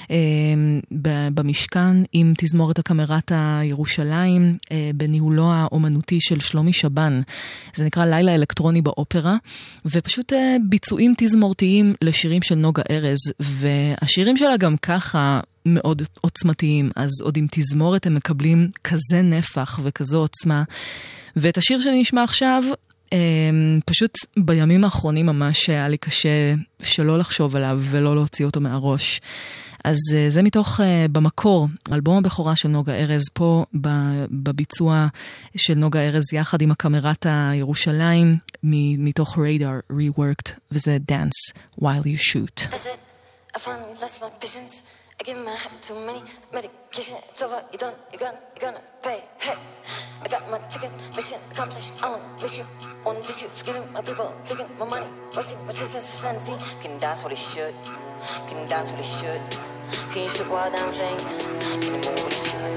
במשכן עם תזמורת הקאמרת הירושלים, בניהולו האומנותי של שלומי שבן. זה נקרא לילה אלקטרוני באופרה, ופשוט ביצועים תזמורתיים לשירים של נוגה ארז, והשירים שלה גם ככה מאוד עוצמתיים, אז עוד עם תזמורת הם מקבלים כזה נפח וכזו עוצמה. ואת השיר שנשמע עכשיו, פשוט בימים האחרונים ממש היה לי קשה שלא לחשוב עליו ולא להוציא אותו מהראש. אז זה מתוך במקור, אלבום הבכורה של נוגה ארז, פה בביצוע של נוגה ארז יחד עם הקאמרת הירושלים, מתוך ריידר Reworked, וזה Dance While You Shoot. That's it, I finally lost my patience. I give my habit too many medication. It's over, you're done, you're gonna pay. Hey, I got my ticket, mission accomplished. I won't miss you, won't diss you. Forgetting my people, taking my money, wasting my chances for sanity. Can dance what it should, can dance what it should. Can you shoot while dancing? Can you move what it should?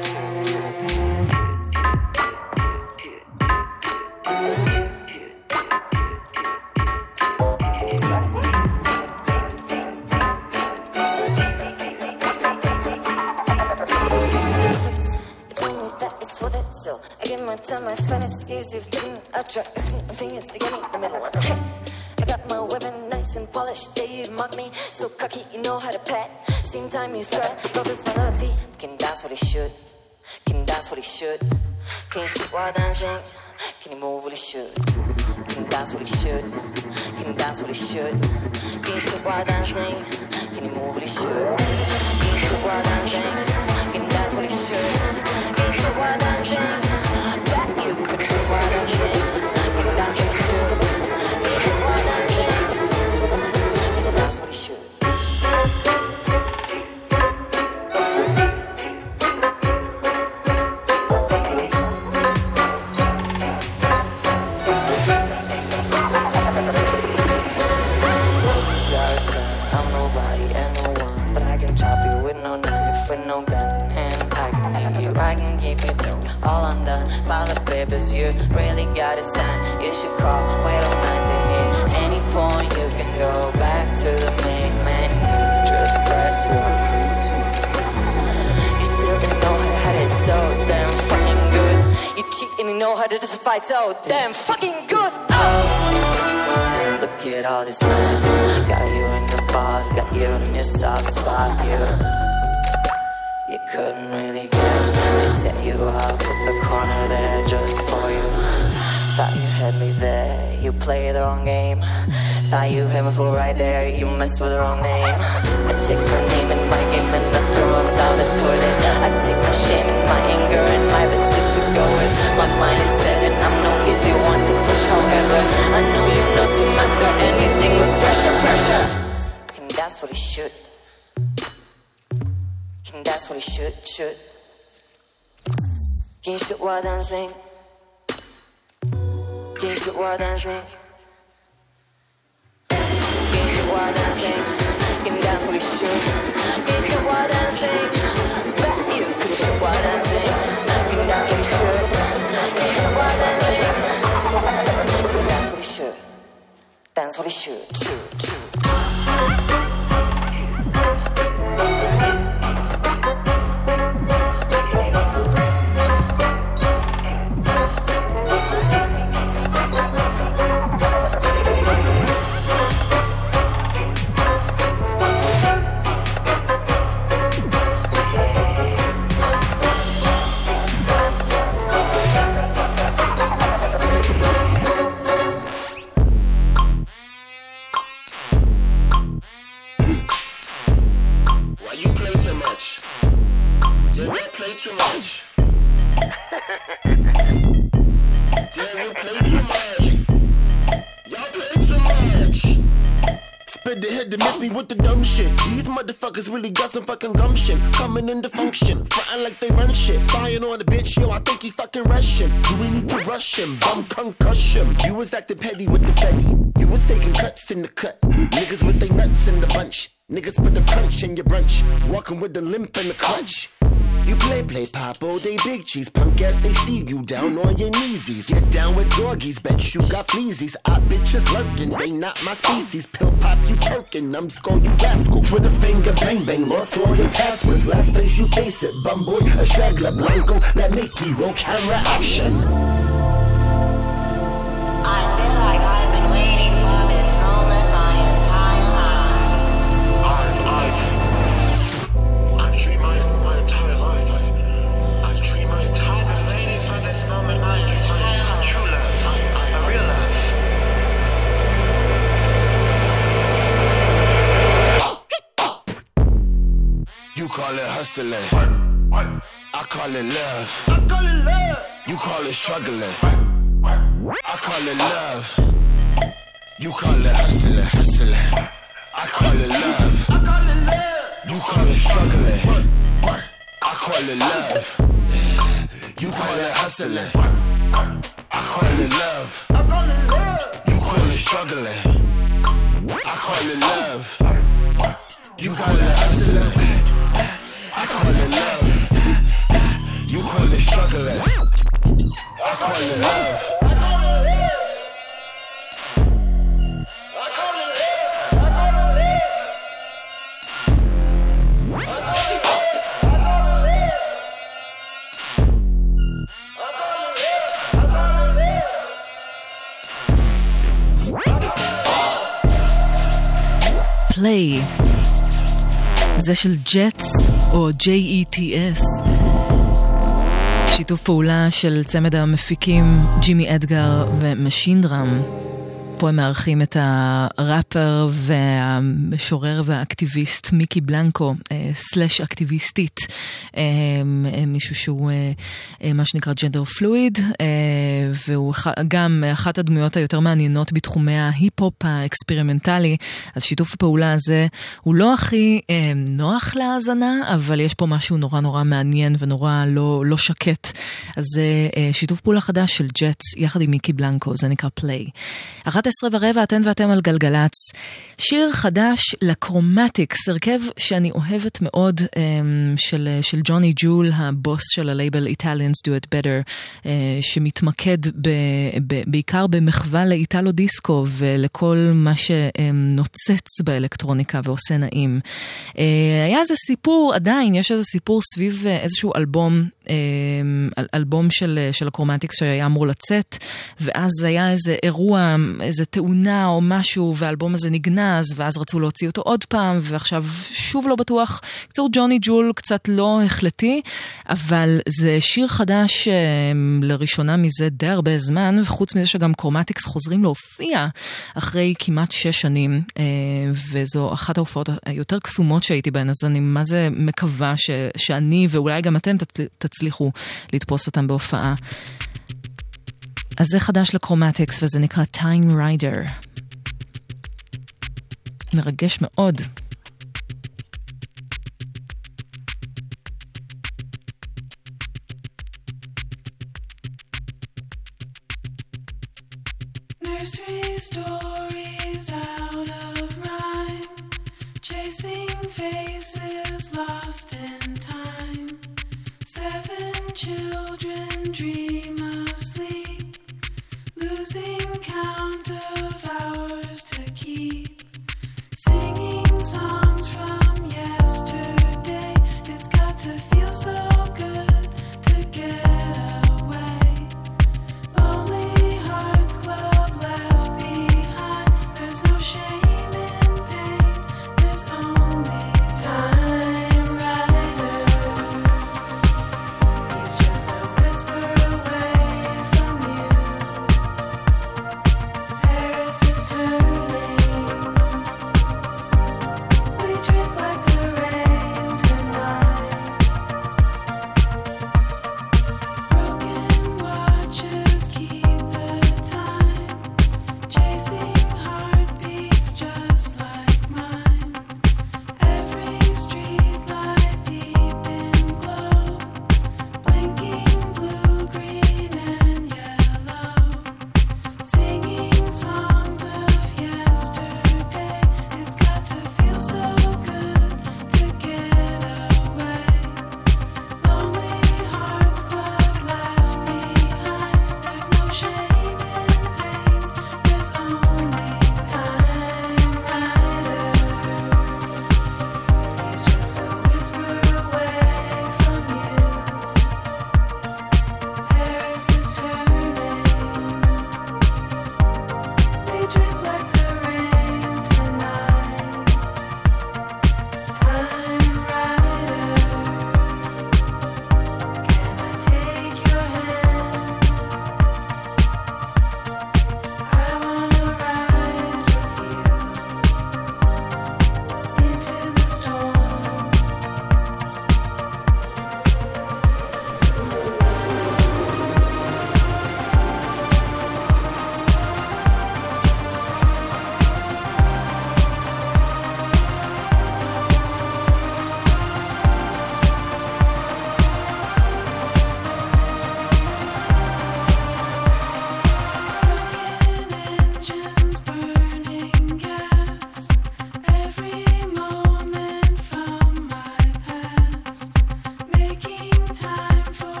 Time my fantasies, you've taken a track, my fingers again in the middle. Hey, I got my weapon nice and polished. They mock me, so cocky, you know how to pat. Same time you threat, love this melody. Can dance what it should, can dance what it should. Can you shoot while dancing? Can you move what it should? Can dance what it should, can dance what it should. Can you shoot while dancing? Can you move what it should? Can you shoot while dancing? Can dance what it should. Can you shoot while dancing? You could shoot while dancing. Can you dance what it should? Can you shoot while dancing? Can you dance what it should? I'm nobody and no one, but I can chop you with no knife, with no gun, and I can hit you, I can keep you through. All undone by the papers, you really gotta sign. You should call, wait all night to hear. Any point you can go back to the main menu. Just press 1. You still didn't know how to hide it so damn fucking good. You cheat and you know how to justify so damn fucking good. Oh, look at all this mess. Got you in the box, got you in your soft spot. You couldn't really guess. They set you up, put the corner there just for you. Thought you had me there, you played the wrong game. Thought you had me for right there, you messed with the wrong name. I take my name and my game and I throw them down the toilet. I take my shame and my anger and my pursuit to go with. My mind is set and I'm no easy one to push. However, I know you know to master anything with pressure. Can dance what it should. Can dance what it should. Can you shoot while dancing? Can you shoot while dancing? Can you shoot while dancing? Can you dance what it should? Can you shoot while dancing? Bet you could shoot while dancing. Can you dance what it should? Can you shoot while dancing? Can you dance what it should? Dance what it should. With the dumb shit, these motherfuckers really got some fucking gumption. Coming into function, frontin' like they run shit. Spying on the bitch, yo, I think he fucking Russian. Do we need to rush him? Bum concussion. You was acting petty with the fetty. You was taking cuts in the cut. Niggas with they nuts in the bunch. Niggas put the crunch in your brunch. Walking with the limp and the crutch. You play pop, oh they big cheese. Punk ass, they see you down on your kneesies. Get down with doggies, bet you got fleasies. I bitches lurking, they not my species. Pill pop, you perkin', I'm skull, you rascal. For the finger bang bang, lost all your passwords. Last place you face it, bum boy, a straggler, Blanco. Let Mickey roll camera action. I feel like I've been waiting for this moment my entire life. I've dreamed my entire life. I've dreamed my entire life. Waiting for this moment my entire life. True love, a real love. You call it hustling. I call it love. You call it struggling. I call it love. You call it hustling. I call it love. You call it struggling. I call it love. You call it hustling. I call it love. You call it struggling. I call it love. You call it hustling. I call it love. You call it struggling. I call it love. Play. זה של ג'טס או J-E-T-S. שיתוף פעולה של צמד המפיקים ג'ימי אדגר ומשין דראם. פה הם מארחים את הראפר והמשורר והאקטיביסט מיקי בלנקו, סלש אקטיביסטית, מישהו שהוא מה שנקרא ג'נדר פלואיד, והוא גם אחת הדמויות היותר מעניינות בתחומי ההיפ-הופ האקספרימנטלי. אז שיתוף הפעולה הזה הוא לא הכי נוח להאזנה, אבל יש פה משהו נורא נורא מעניין ונורא לא שקט. אז זה שיתוף פעולה חדש של ג'טס יחד עם מיקי בלנקו, זה נקרא פליי. 11:15, אתן ואתם על גלגלץ. שיר חדש לקרומטיקס, הרכב שאני אוהבת מאוד, של ג'וני ג'ול, הבוס של הלייבל Italians Do It Better, שמתמקד בעיקר במחווה לאיטלו דיסקו ולכל מה שנוצץ באלקטרוניקה ועושה נעים. היה איזה סיפור, עדיין יש איזה סיפור סביב איזשהו אלבום של הקרומטיקס שהיה אמור לצאת, ואז היה איזה אירוע, איזה תאונה או משהו, והאלבום הזה נגנז, ואז רצו להוציא אותו עוד פעם, ועכשיו שוב לא בטוח. קצור ג'וני ג'ול קצת לא החלטי, אבל זה שיר חדש לראשונה מזה די הרבה זמן, וחוץ מזה שגם קרומטיקס חוזרים להופיע אחרי כמעט 6 שנים, וזו אחת ההופעות היותר קסומות שהייתי בהן, אז אני מה זה מקווה שאני ואולי גם אתם תצליחו לתפוס אותם בהופעה. אז זה חדש לקרומטיקס וזה נקרא Time Rider. מרגש מאוד. Nursery stories out of rhyme, chasing faces lost in time. 7 children dream of sleep, losing count of hours to keep, singing songs from yesterday. It's got to feel so good to get away. Lonely Hearts Club left behind. There's no shame in pain, there's only Time Rider. He's just a whisper away from you. Paris is turning.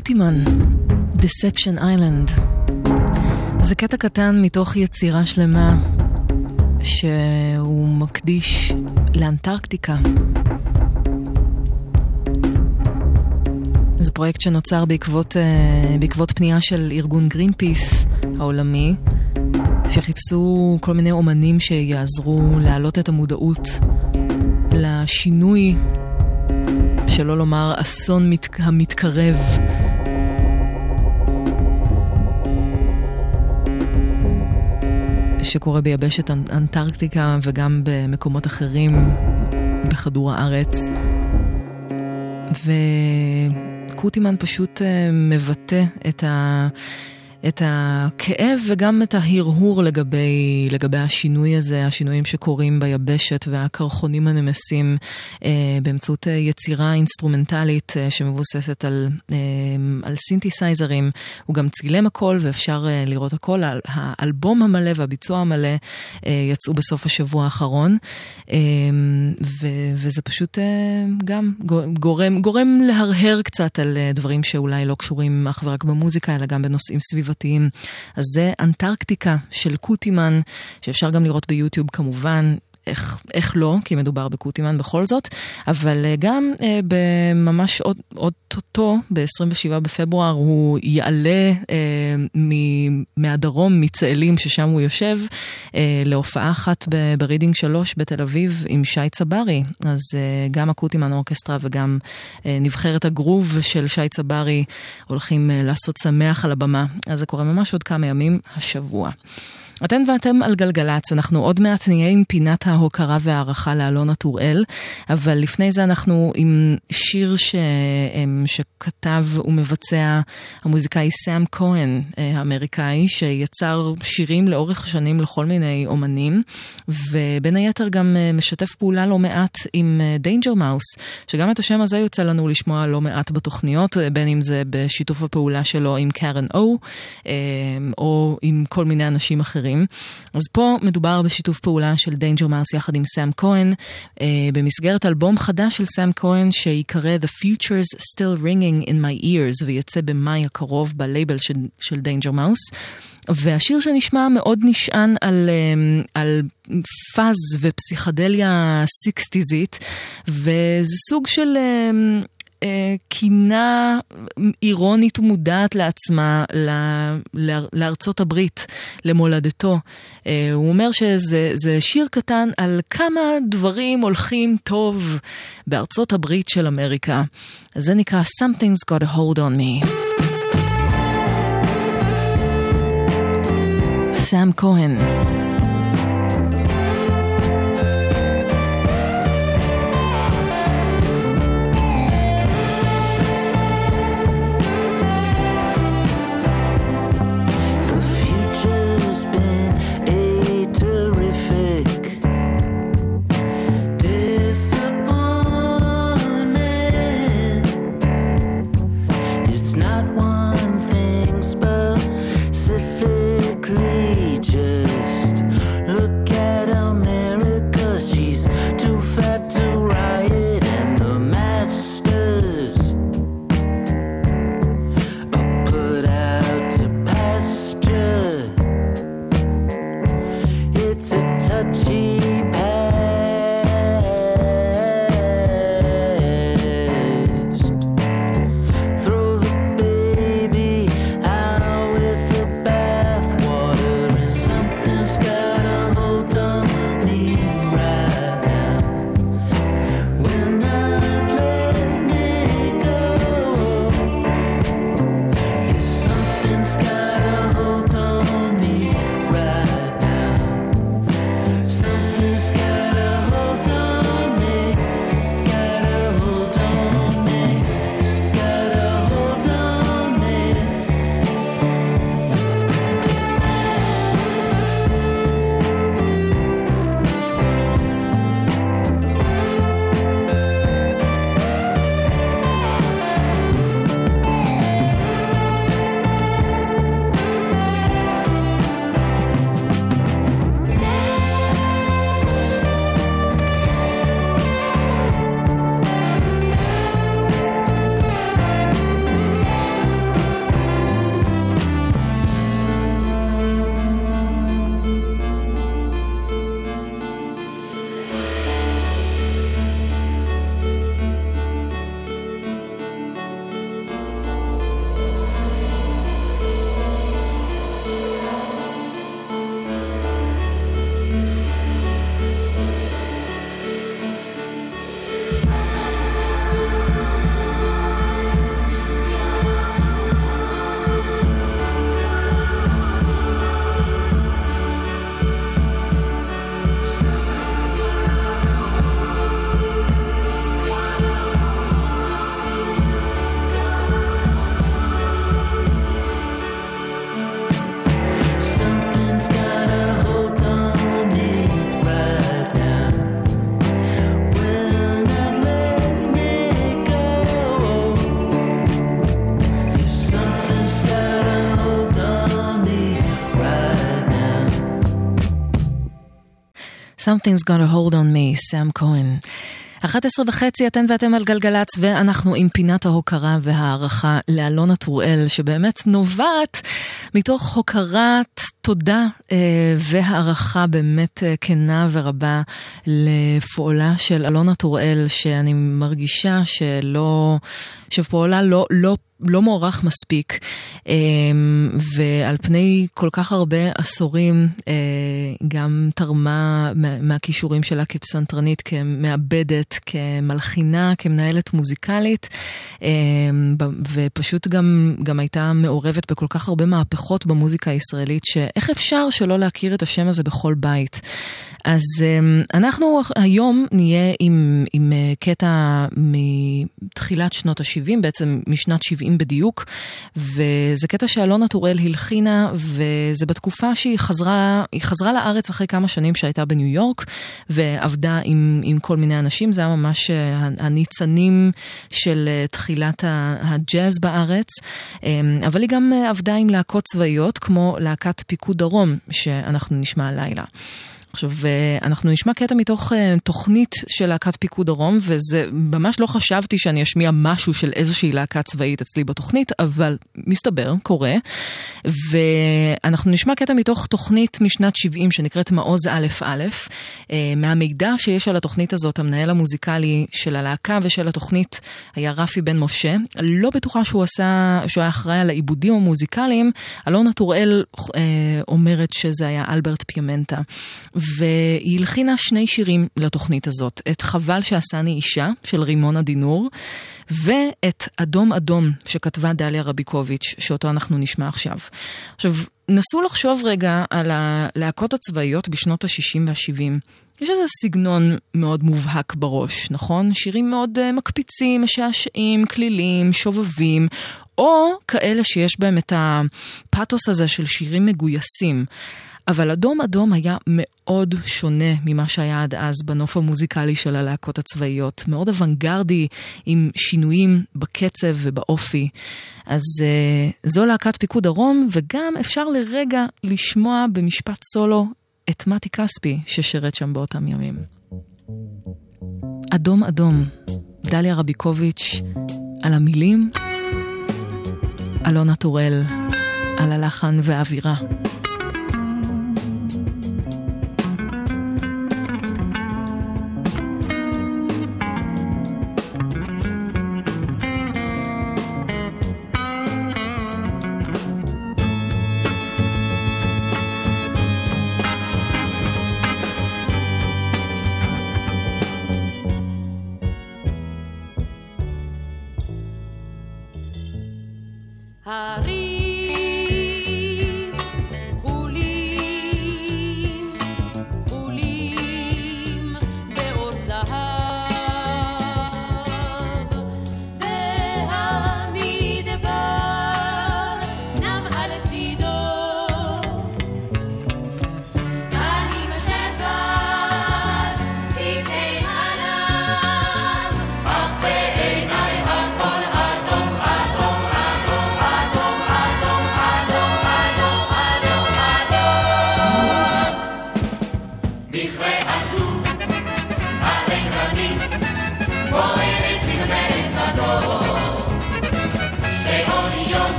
קוטימן, Deception Island. זה קטע קטן מתוך יצירה שלמה שהוא מקדיש לאנטרקטיקה. זה פרויקט שנוצר בעקבות פנייה של ארגון גרינפיס העולמי, שחיפשו כל מיני אומנים שיעזרו להעלות את המודעות לשינוי, שלא לומר אסון המתקרב. שקורה ביבשת אנטרקטיקה וגם במקומות אחרים בכדור הארץ. וקוטימן פשוט מבטא את הכאב וגם את ההרהור לגבי השינוי הזה, השינויים שקורים ביבשת והקרחונים הנמסים באמצעות יצירה אינסטרומנטלית שמבוססת על סינתסייזרים. הוא גם צילם הכל ואפשר לראות הכל. האלבום המלא והביצוע המלא יצאו בסוף השבוע האחרון, וזה פשוט גם גורם להרהר קצת על דברים שאולי לא קשורים אך ורק במוזיקה, אלא גם בנושאים סביבתיים. אז זה אנטרקטיקה של קוטימן, שאפשר גם לראות ביוטיוב כמובן. איך לא, כי מדובר בקוטימן בכל זאת, אבל גם ממש עוד ב-27 בפברואר הוא יעלה מהדרום, מצאלים ששם הוא יושב, להופעה אחת ברידינג 3 בתל אביב עם שי צברי. אז גם הקוטימן אורקסטרה וגם נבחרת הגרוב של שי צברי הולכים לעשות שמח על הבמה. אז זה קורה ממש עוד כמה ימים השבוע. אתן ואתם על גלגלץ, אנחנו עוד מעט נהיה עם פינת ההוקרה והערכה לאלונה טוראל, אבל לפני זה אנחנו עם שיר שכתב ומבצע המוזיקאי סאם כהן, האמריקאי, שיצר שירים לאורך השנים לכל מיני אומנים, ובין היתר גם משתף פעולה לא מעט עם דיינג'ר מאוס, שגם את השם הזה יוצא לנו לשמוע לא מעט בתוכניות, בין אם זה בשיתוף הפעולה שלו עם קרן או עם כל מיני אנשים אחרים. אז פה מדובר בשיתוף פעולה של דיינג'ר מאוס יחד עם סאם כהן, במסגרת אלבום חדש של סאם כהן שיקרא The Future's Still Ringing in My Ears, ויצא במאי הקרוב בלייבל של דיינג'ר מאוס. והשיר שנשמע מאוד נשען על פאז ופסיכדליה סיקסטיזית, וזה סוג של קינה אירונית ומודעת לעצמה לארצות הברית, למולדתו. הוא אומר שזה שיר קטן על כמה דברים הולכים טוב בארצות הברית של אמריקה. זה נקרא Something's Got a Hold on Me. סאם כהן. Something's Something's gonna hold on me, סם כהן. 11:30 אתן ואתם על גלגלץ, ואנחנו עם פינת ההוקרה והערכה לאלונה טוראל, שבאמת נובעת מתוך הוקרת תודה והערכה באמת כנה ורבה לפועלה של אלונה טוראל, שאני מרגישה שפועלה לא מוערך מספיק, ועל פני כל כך הרבה עשורים גם תרמה מהכישורים שלה כפסנתרנית, כמעבדת, כמלחינה, כמנהלת מוזיקלית, ופשוט גם הייתה מעורבת בכל כך הרבה מהפכות במוזיקה הישראלית, שאיך אפשר שלא להכיר את השם הזה בכל בית. אז אנחנו היום נהיה עם קטע מתחילת שנות ה-70, בעצם משנת 70 בדיוק, וזה קטע שאלונה טוראל הלחינה, וזה בתקופה שהיא חזרה לארץ אחרי כמה שנים שהייתה בניו יורק, ועבדה עם כל מיני אנשים. זה היה ממש הניצנים של תחילת הג'אז בארץ, אבל היא גם עבדה עם להקות צבאיות, כמו להקת פיקוד דרום, שאנחנו נשמע הלילה. עכשיו, אנחנו נשמע קטע מתוך תוכנית של להקת פיקוד דרום, וזה ממש לא חשבתי שאני אשמיע משהו של איזושהי להקה צבאית אצלי בתוכנית, אבל מסתבר, קורה. ואנחנו נשמע קטע מתוך תוכנית משנת 70 שנקראת מעוז א' א', מהמידע שיש על התוכנית הזאת, המנהל המוזיקלי של הלהקה ושל התוכנית היה רפי בן משה. לא בטוחה שהוא היה אחראי על העיבודים המוזיקליים. אלונה טוראל אומרת שזה היה אלברט פיאמנטה. והיא הלחינה 2 שירים לתוכנית הזאת, את חבל שעשני אישה של רימונה דינור, ואת אדום אדום שכתבה דליה רביקוביץ', שאותו אנחנו נשמע עכשיו. עכשיו, נסו לחשוב רגע על הלהקות הצבאיות בשנות ה-60 וה-70. יש איזה סגנון מאוד מובהק בראש, נכון? שירים מאוד מקפיצים, משעשעים, כלילים, שובבים, או כאלה שיש בהם את הפאתוס הזה של שירים מגויסים. אבל אדום אדום היה מאוד שונה ממה שהיה עד אז בנוף המוזיקלי של הלהקות הצבאיות. מאוד אוונגרדי, עם שינויים בקצב ובאופי. אז זו להקת פיקוד דרום, וגם אפשר לרגע לשמוע במשפט סולו את מתי כספי ששירת שם באותם ימים. אדום אדום, דליה רביקוביץ' על המילים, אלונה טוראל על הלחן והאווירה.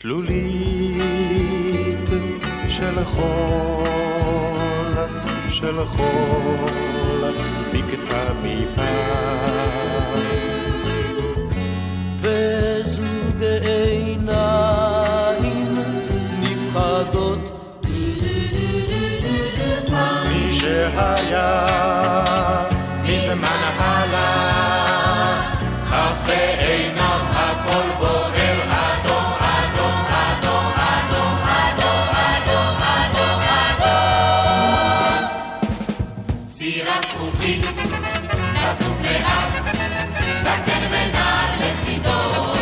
תלולית של חול, של חול, בקתה מפעם. וזוג עיניים נפחדות מי שהיה מזמן הלך, אך בעיניו הכל בוער אדום, אדום, אדום, אדום, אדום, אדום, אדום, אדום. סירת זכוכית, נצוף לאט, זקן ונער לצידו.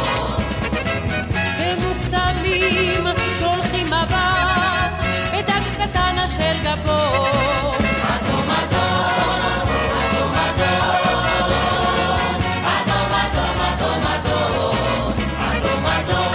ומוקסמים שולחים מבט בדג קטן אשר גבו. אדום, אדום, אדום, אדום, אדום, אדום, אדום, אדום, אדום,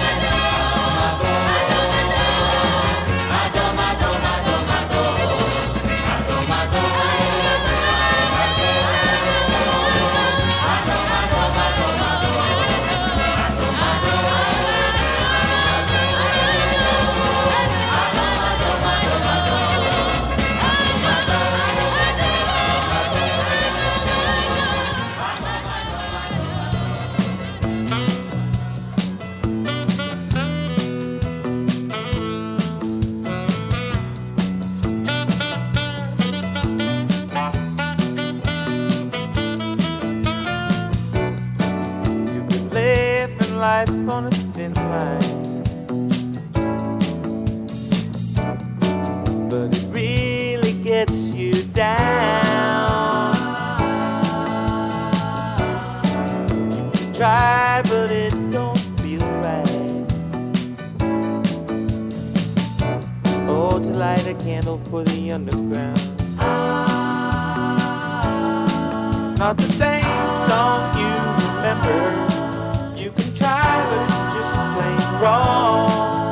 life on a thin line, but it really gets you down. You try, but it don't feel right. Oh, to light a candle for the underground. It's not the same song you remember. You can try, but it's just plain wrong.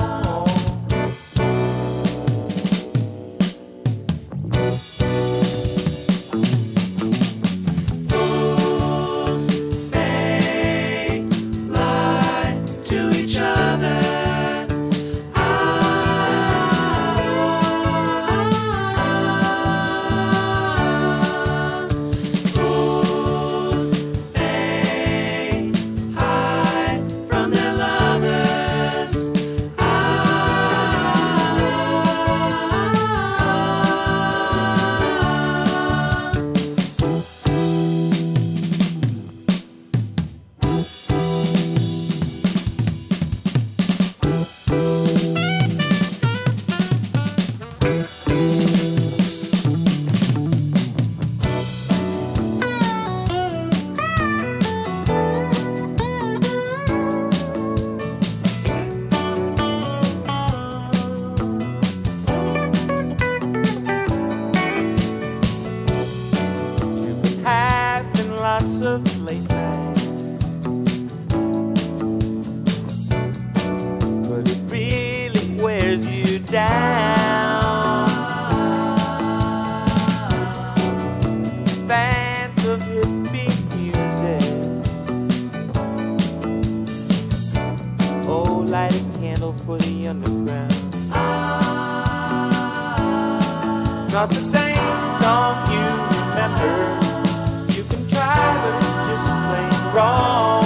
Not the same song you remember. You can try, but it's just plain wrong.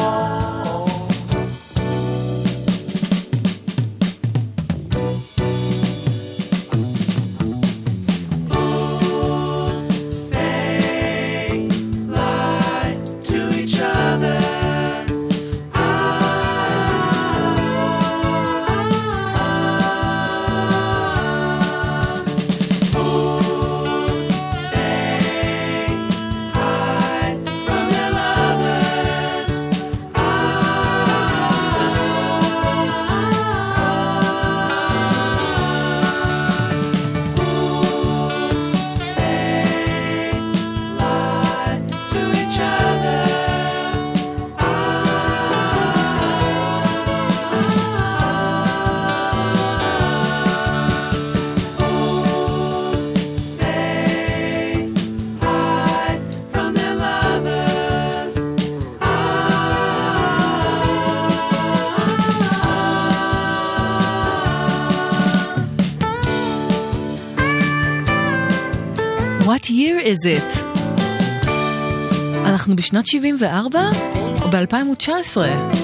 What year is it? אנחנו בשנת 74 או ב-2019?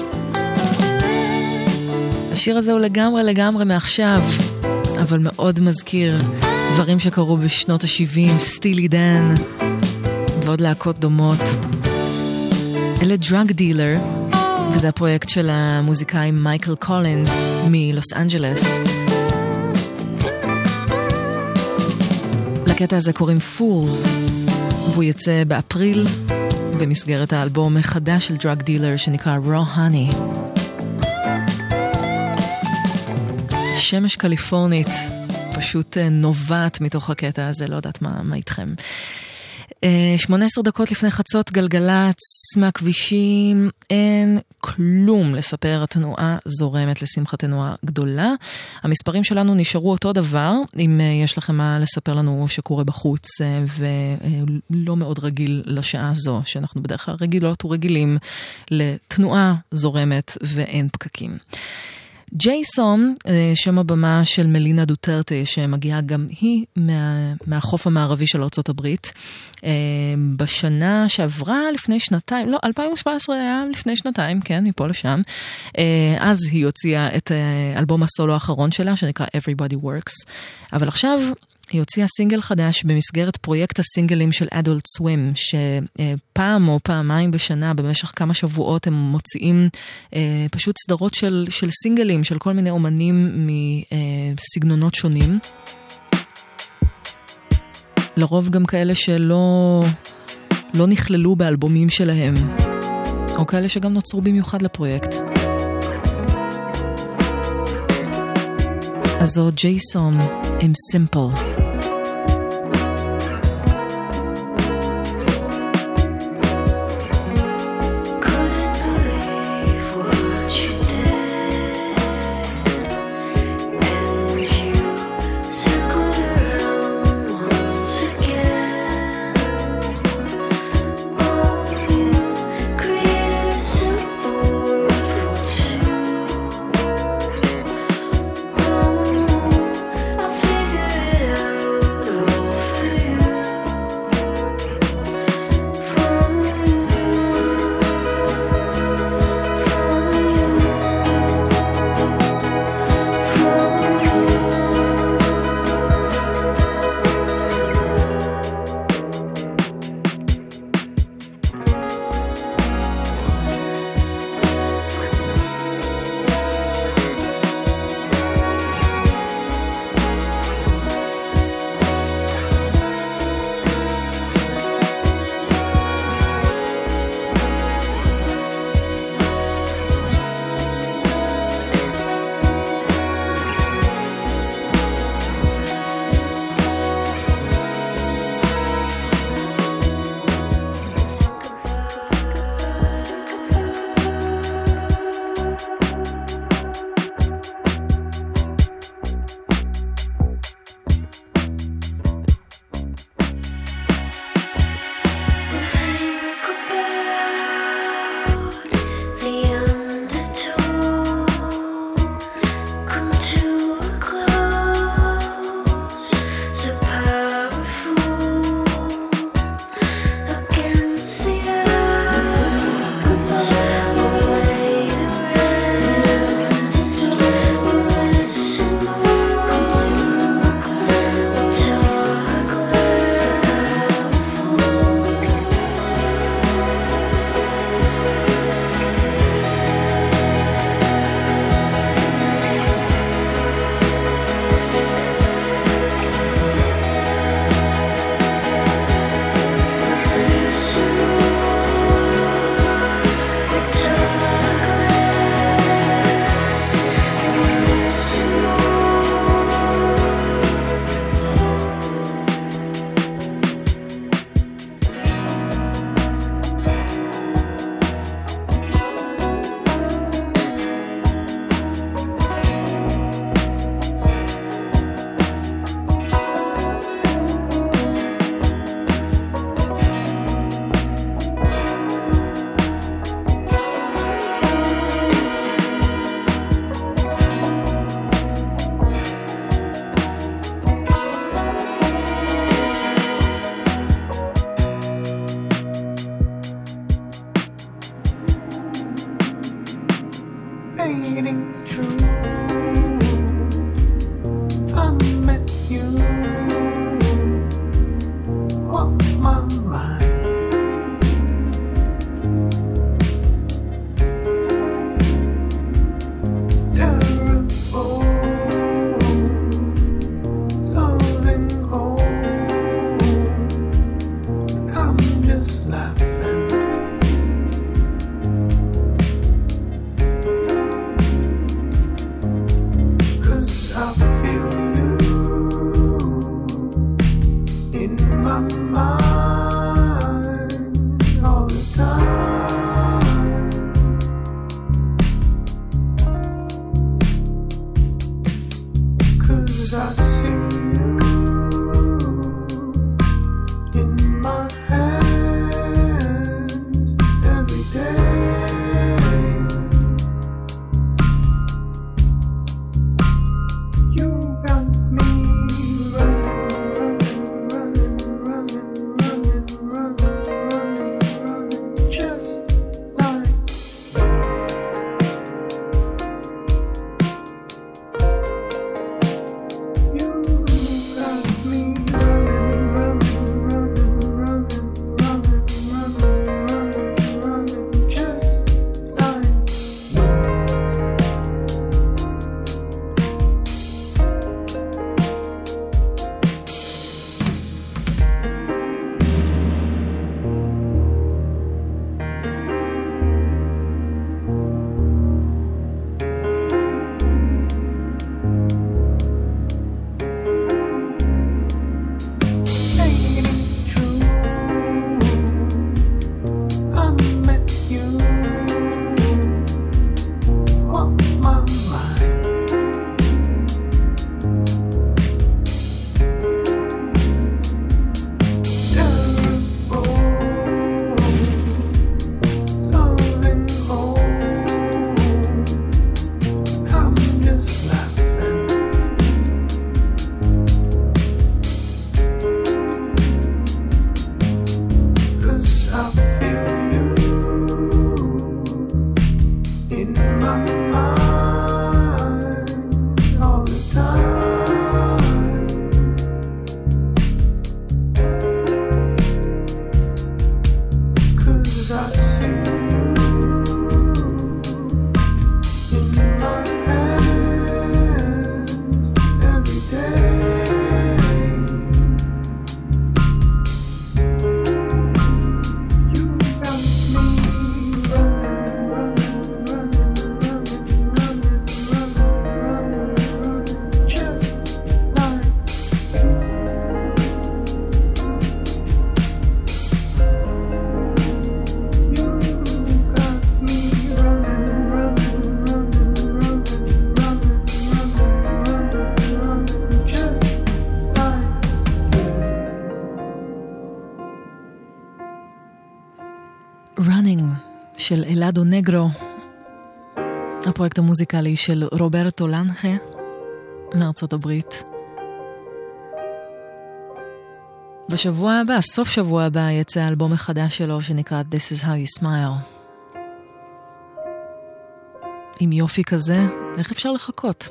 השיר הזה הוא לגמרי מעכשיו, אבל מאוד מזכיר דברים שקרו בשנות ה-70, סטילי דן ועוד להקות דומות. אלה דרג דילר, וזה הפרויקט של המוזיקאי מייקל קולינס מלוס אנג'לס. לקטע הזה קוראים Fools, והוא יצא באפריל במסגרת האלבום החדש של דרג דילר שנקרא Raw Honey. שמש קליפורנית פשוט נובעת מתוך הקטע הזה, לא יודעת מה איתכם. 18 דקות לפני חצות, גלגלץ מהכבישים, אין כלום לספר, התנועה זורמת לשמחתנו הגדולה. המספרים שלנו נשארו אותו דבר, אם יש לכם מה לספר לנו שקורה בחוץ, ולא מאוד רגיל לשעה הזו, שאנחנו בדרך כלל רגילות ורגילים לתנועה זורמת ואין פקקים. ג'ייסון, שם הבמה של מלינה דוטרטה, שמגיעה גם היא מהחוף המערבי של ארצות הברית. בשנה שעברה לפני שנתיים, לא, 2017 היה לפני שנתיים, כן, מפה לשם. אז היא הוציאה את אלבום הסולו האחרון שלה, שנקרא Everybody Works. אבל עכשיו היא הוציאה סינגל חדש במסגרת פרויקט הסינגלים של Adult Swim, שפעם או פעמיים בשנה, במשך כמה שבועות, הם מוציאים פשוט סדרות של סינגלים, של כל מיני אומנים מסגנונות שונים. לרוב גם כאלה שלא נכללו באלבומים שלהם, או כאלה שגם נוצרו במיוחד לפרויקט. אז זו ג'ייסון עם Simple. Figure it out. 'Cause I see you in my hands every day. You got me running, just like you. Got me running, just like Running של אלאדו נגרו, הפרויקט המוזיקלי של רוברטו לנחה מארצות הברית. בשבוע הבא, סוף שבוע הבא, יצא האלבום החדש שלו שנקרא This is how you smile. עם יופי כזה, איך אפשר לחכות?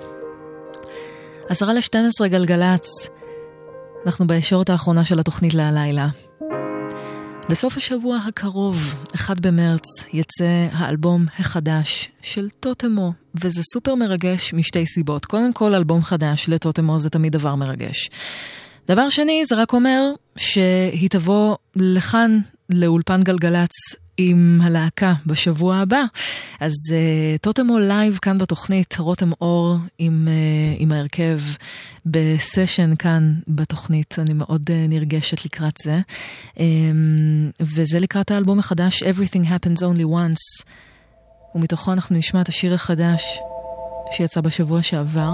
11:50 גלגלץ, אנחנו בישורת האחרונה של התוכנית להלילה. בסוף השבוע הקרוב, 1 במרץ, יצא האלבום החדש של טוטמו, וזה סופר מרגש משתי סיבות. קודם כל, אלבום חדש לטוטמו זה תמיד דבר מרגש. דבר שני, זה רק אומר שהיא תבוא לכאן לאולפן גלגלץ עם הלהקה בשבוע הבא. אז טוטמו לייב כאן בתוכנית, רותם אור עם ההרכב בסשן כאן בתוכנית. אני מאוד נרגשת לקראת זה. וזה לקראת האלבום החדש Everything Happens Only Once. ומתוכו אנחנו נשמע את השיר החדש שיצא בשבוע שעבר.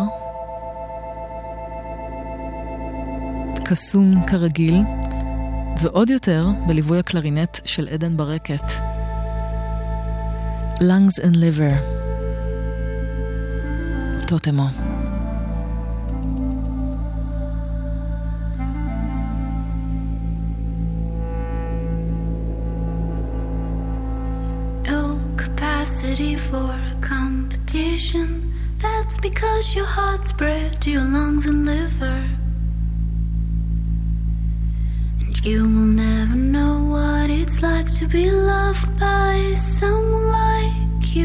קסום כרגיל. ועוד יותר בליווי הקלרינט של עדן ברקת. Lungs and Liver. טוטמו. No capacity for a competition. That's because your heart's bred to your lungs and liver. You will never know what it's like to be loved by someone like you.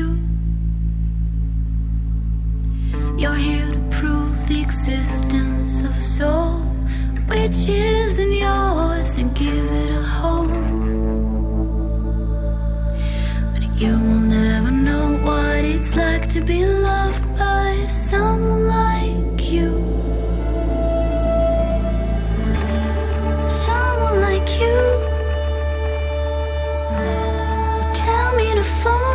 You're here to prove the existence of a soul which isn't yours and give it a home. But you will never know what it's like to be loved by someone like you. Like you, tell me to fall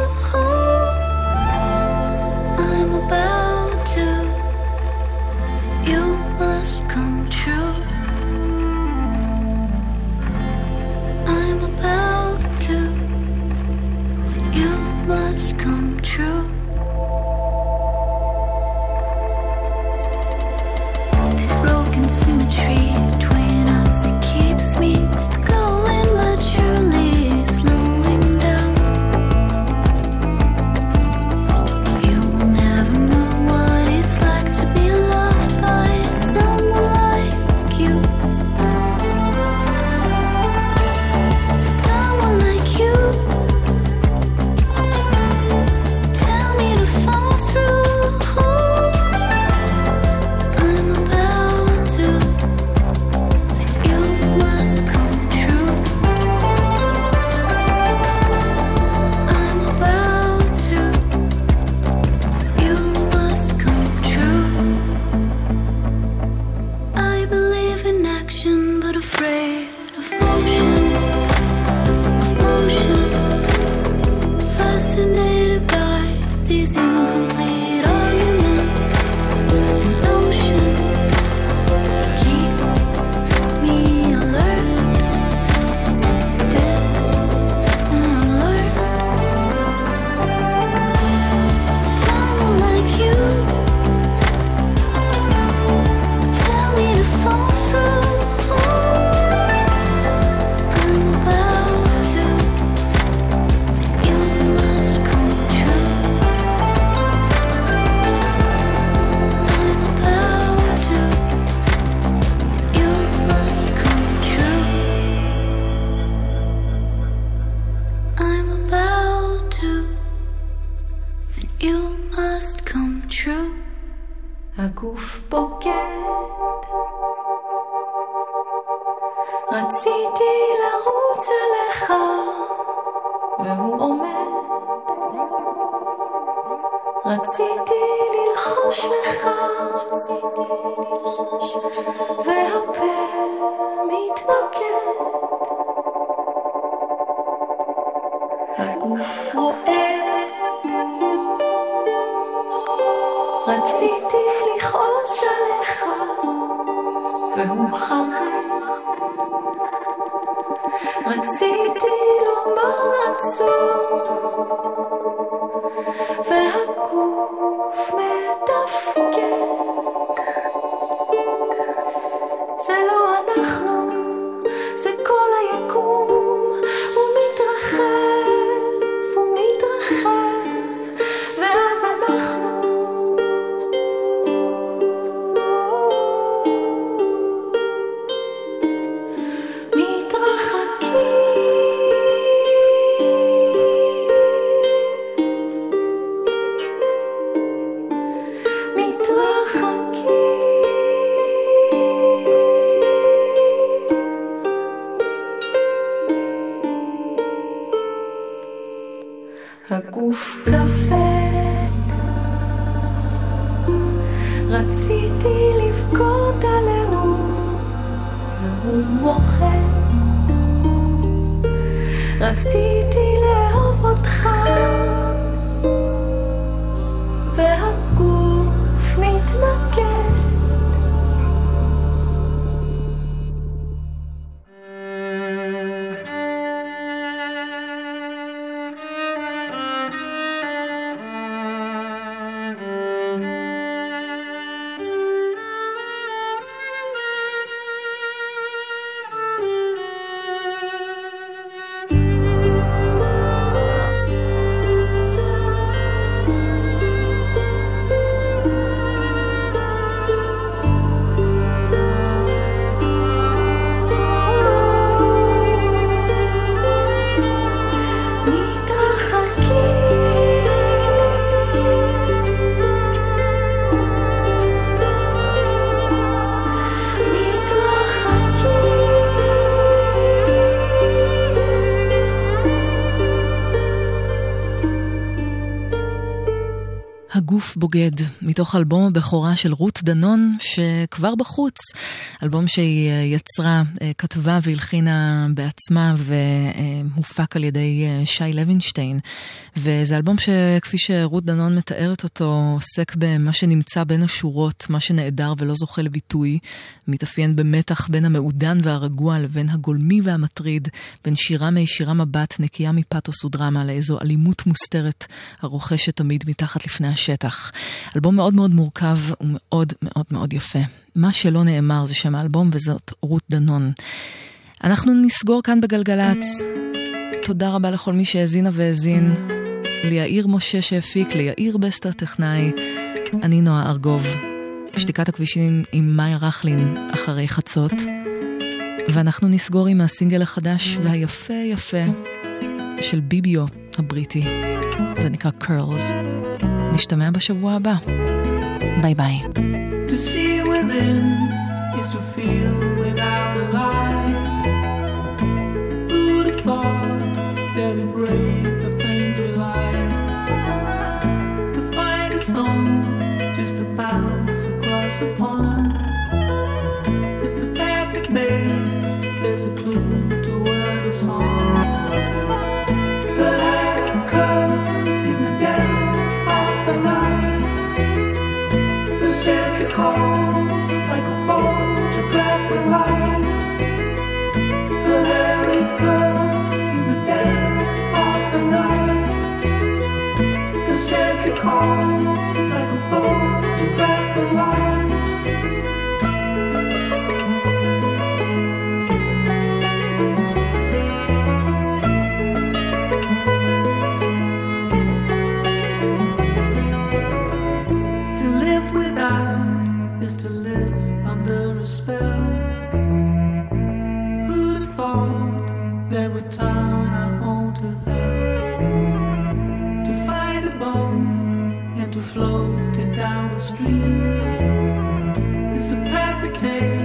through. I'm about to הגוף בוגד, רציתי לרוץ אליך והוא עומד, רציתי ללחוש לך, והפה מתנגד, הגוף רועד, רציתי לכעוס עליך והוא חרד, רציתי לומר עצור והגוף מתפקד, זה לא אנחנו, זה כל היקום, הוא מתרחב, הוא מתרחב, ואז אנחנו הגוף כבד, רציתי לבכות עלינו והוא מוחד, רציתי לאהוב אותך והגוף מתנגד, הגוף בוגד, מתוך אלבום הבכורה של רות דנון שכבר בחוץ, אלבום שהיא יצרה, כתבה והלחינה בעצמה והופק על ידי שי לוינשטיין, וזה אלבום שכפי שרות דנון מתארת אותו עוסק במה שנמצא בין השורות, מה שנעדר ולא זוכה לביטוי, מתאפיין במתח בין המעודן והרגוע לבין הגולמי והמטריד, בין שירה מישירה מבט נקייה מפתוס ודרמה לאיזו אלימות מוסתרת הרוכשת תמיד מתחת לפני השטח. אלבום מאוד מאוד מורכב ומאוד מאוד מאוד יפה. מה שלא נאמר זה שם האלבום, וזאת רות דנון. אנחנו נסגור כאן בגלגלץ. תודה רבה לכל מי שהאזינה והאזין. ליאיר משה שהפיק, ליאיר בסטר טכנאי. אני נועה ארגוב. שתיקת הכבישים עם מאיה רחלין אחרי חצות. ואנחנו נסגור עם הסינגל החדש והיפה יפה של ביביו הבריטי. זה נקרא Curls. נשתמע בשבוע הבא. ביי ביי. To see within is to feel without a light. Who'd have thought that we break the things we like? To find a stone just to bounce across a pond. It's the perfect maze, there's a clue to where the song. The light comes in the dead of the night. The sentry calls like a photograph with light. There it comes in the dead of the night. The sentry calls like a photograph with light. Is to live under a spell. Who'd have thought that would turn our home to hell? To find a bone and to float it down the stream. pretend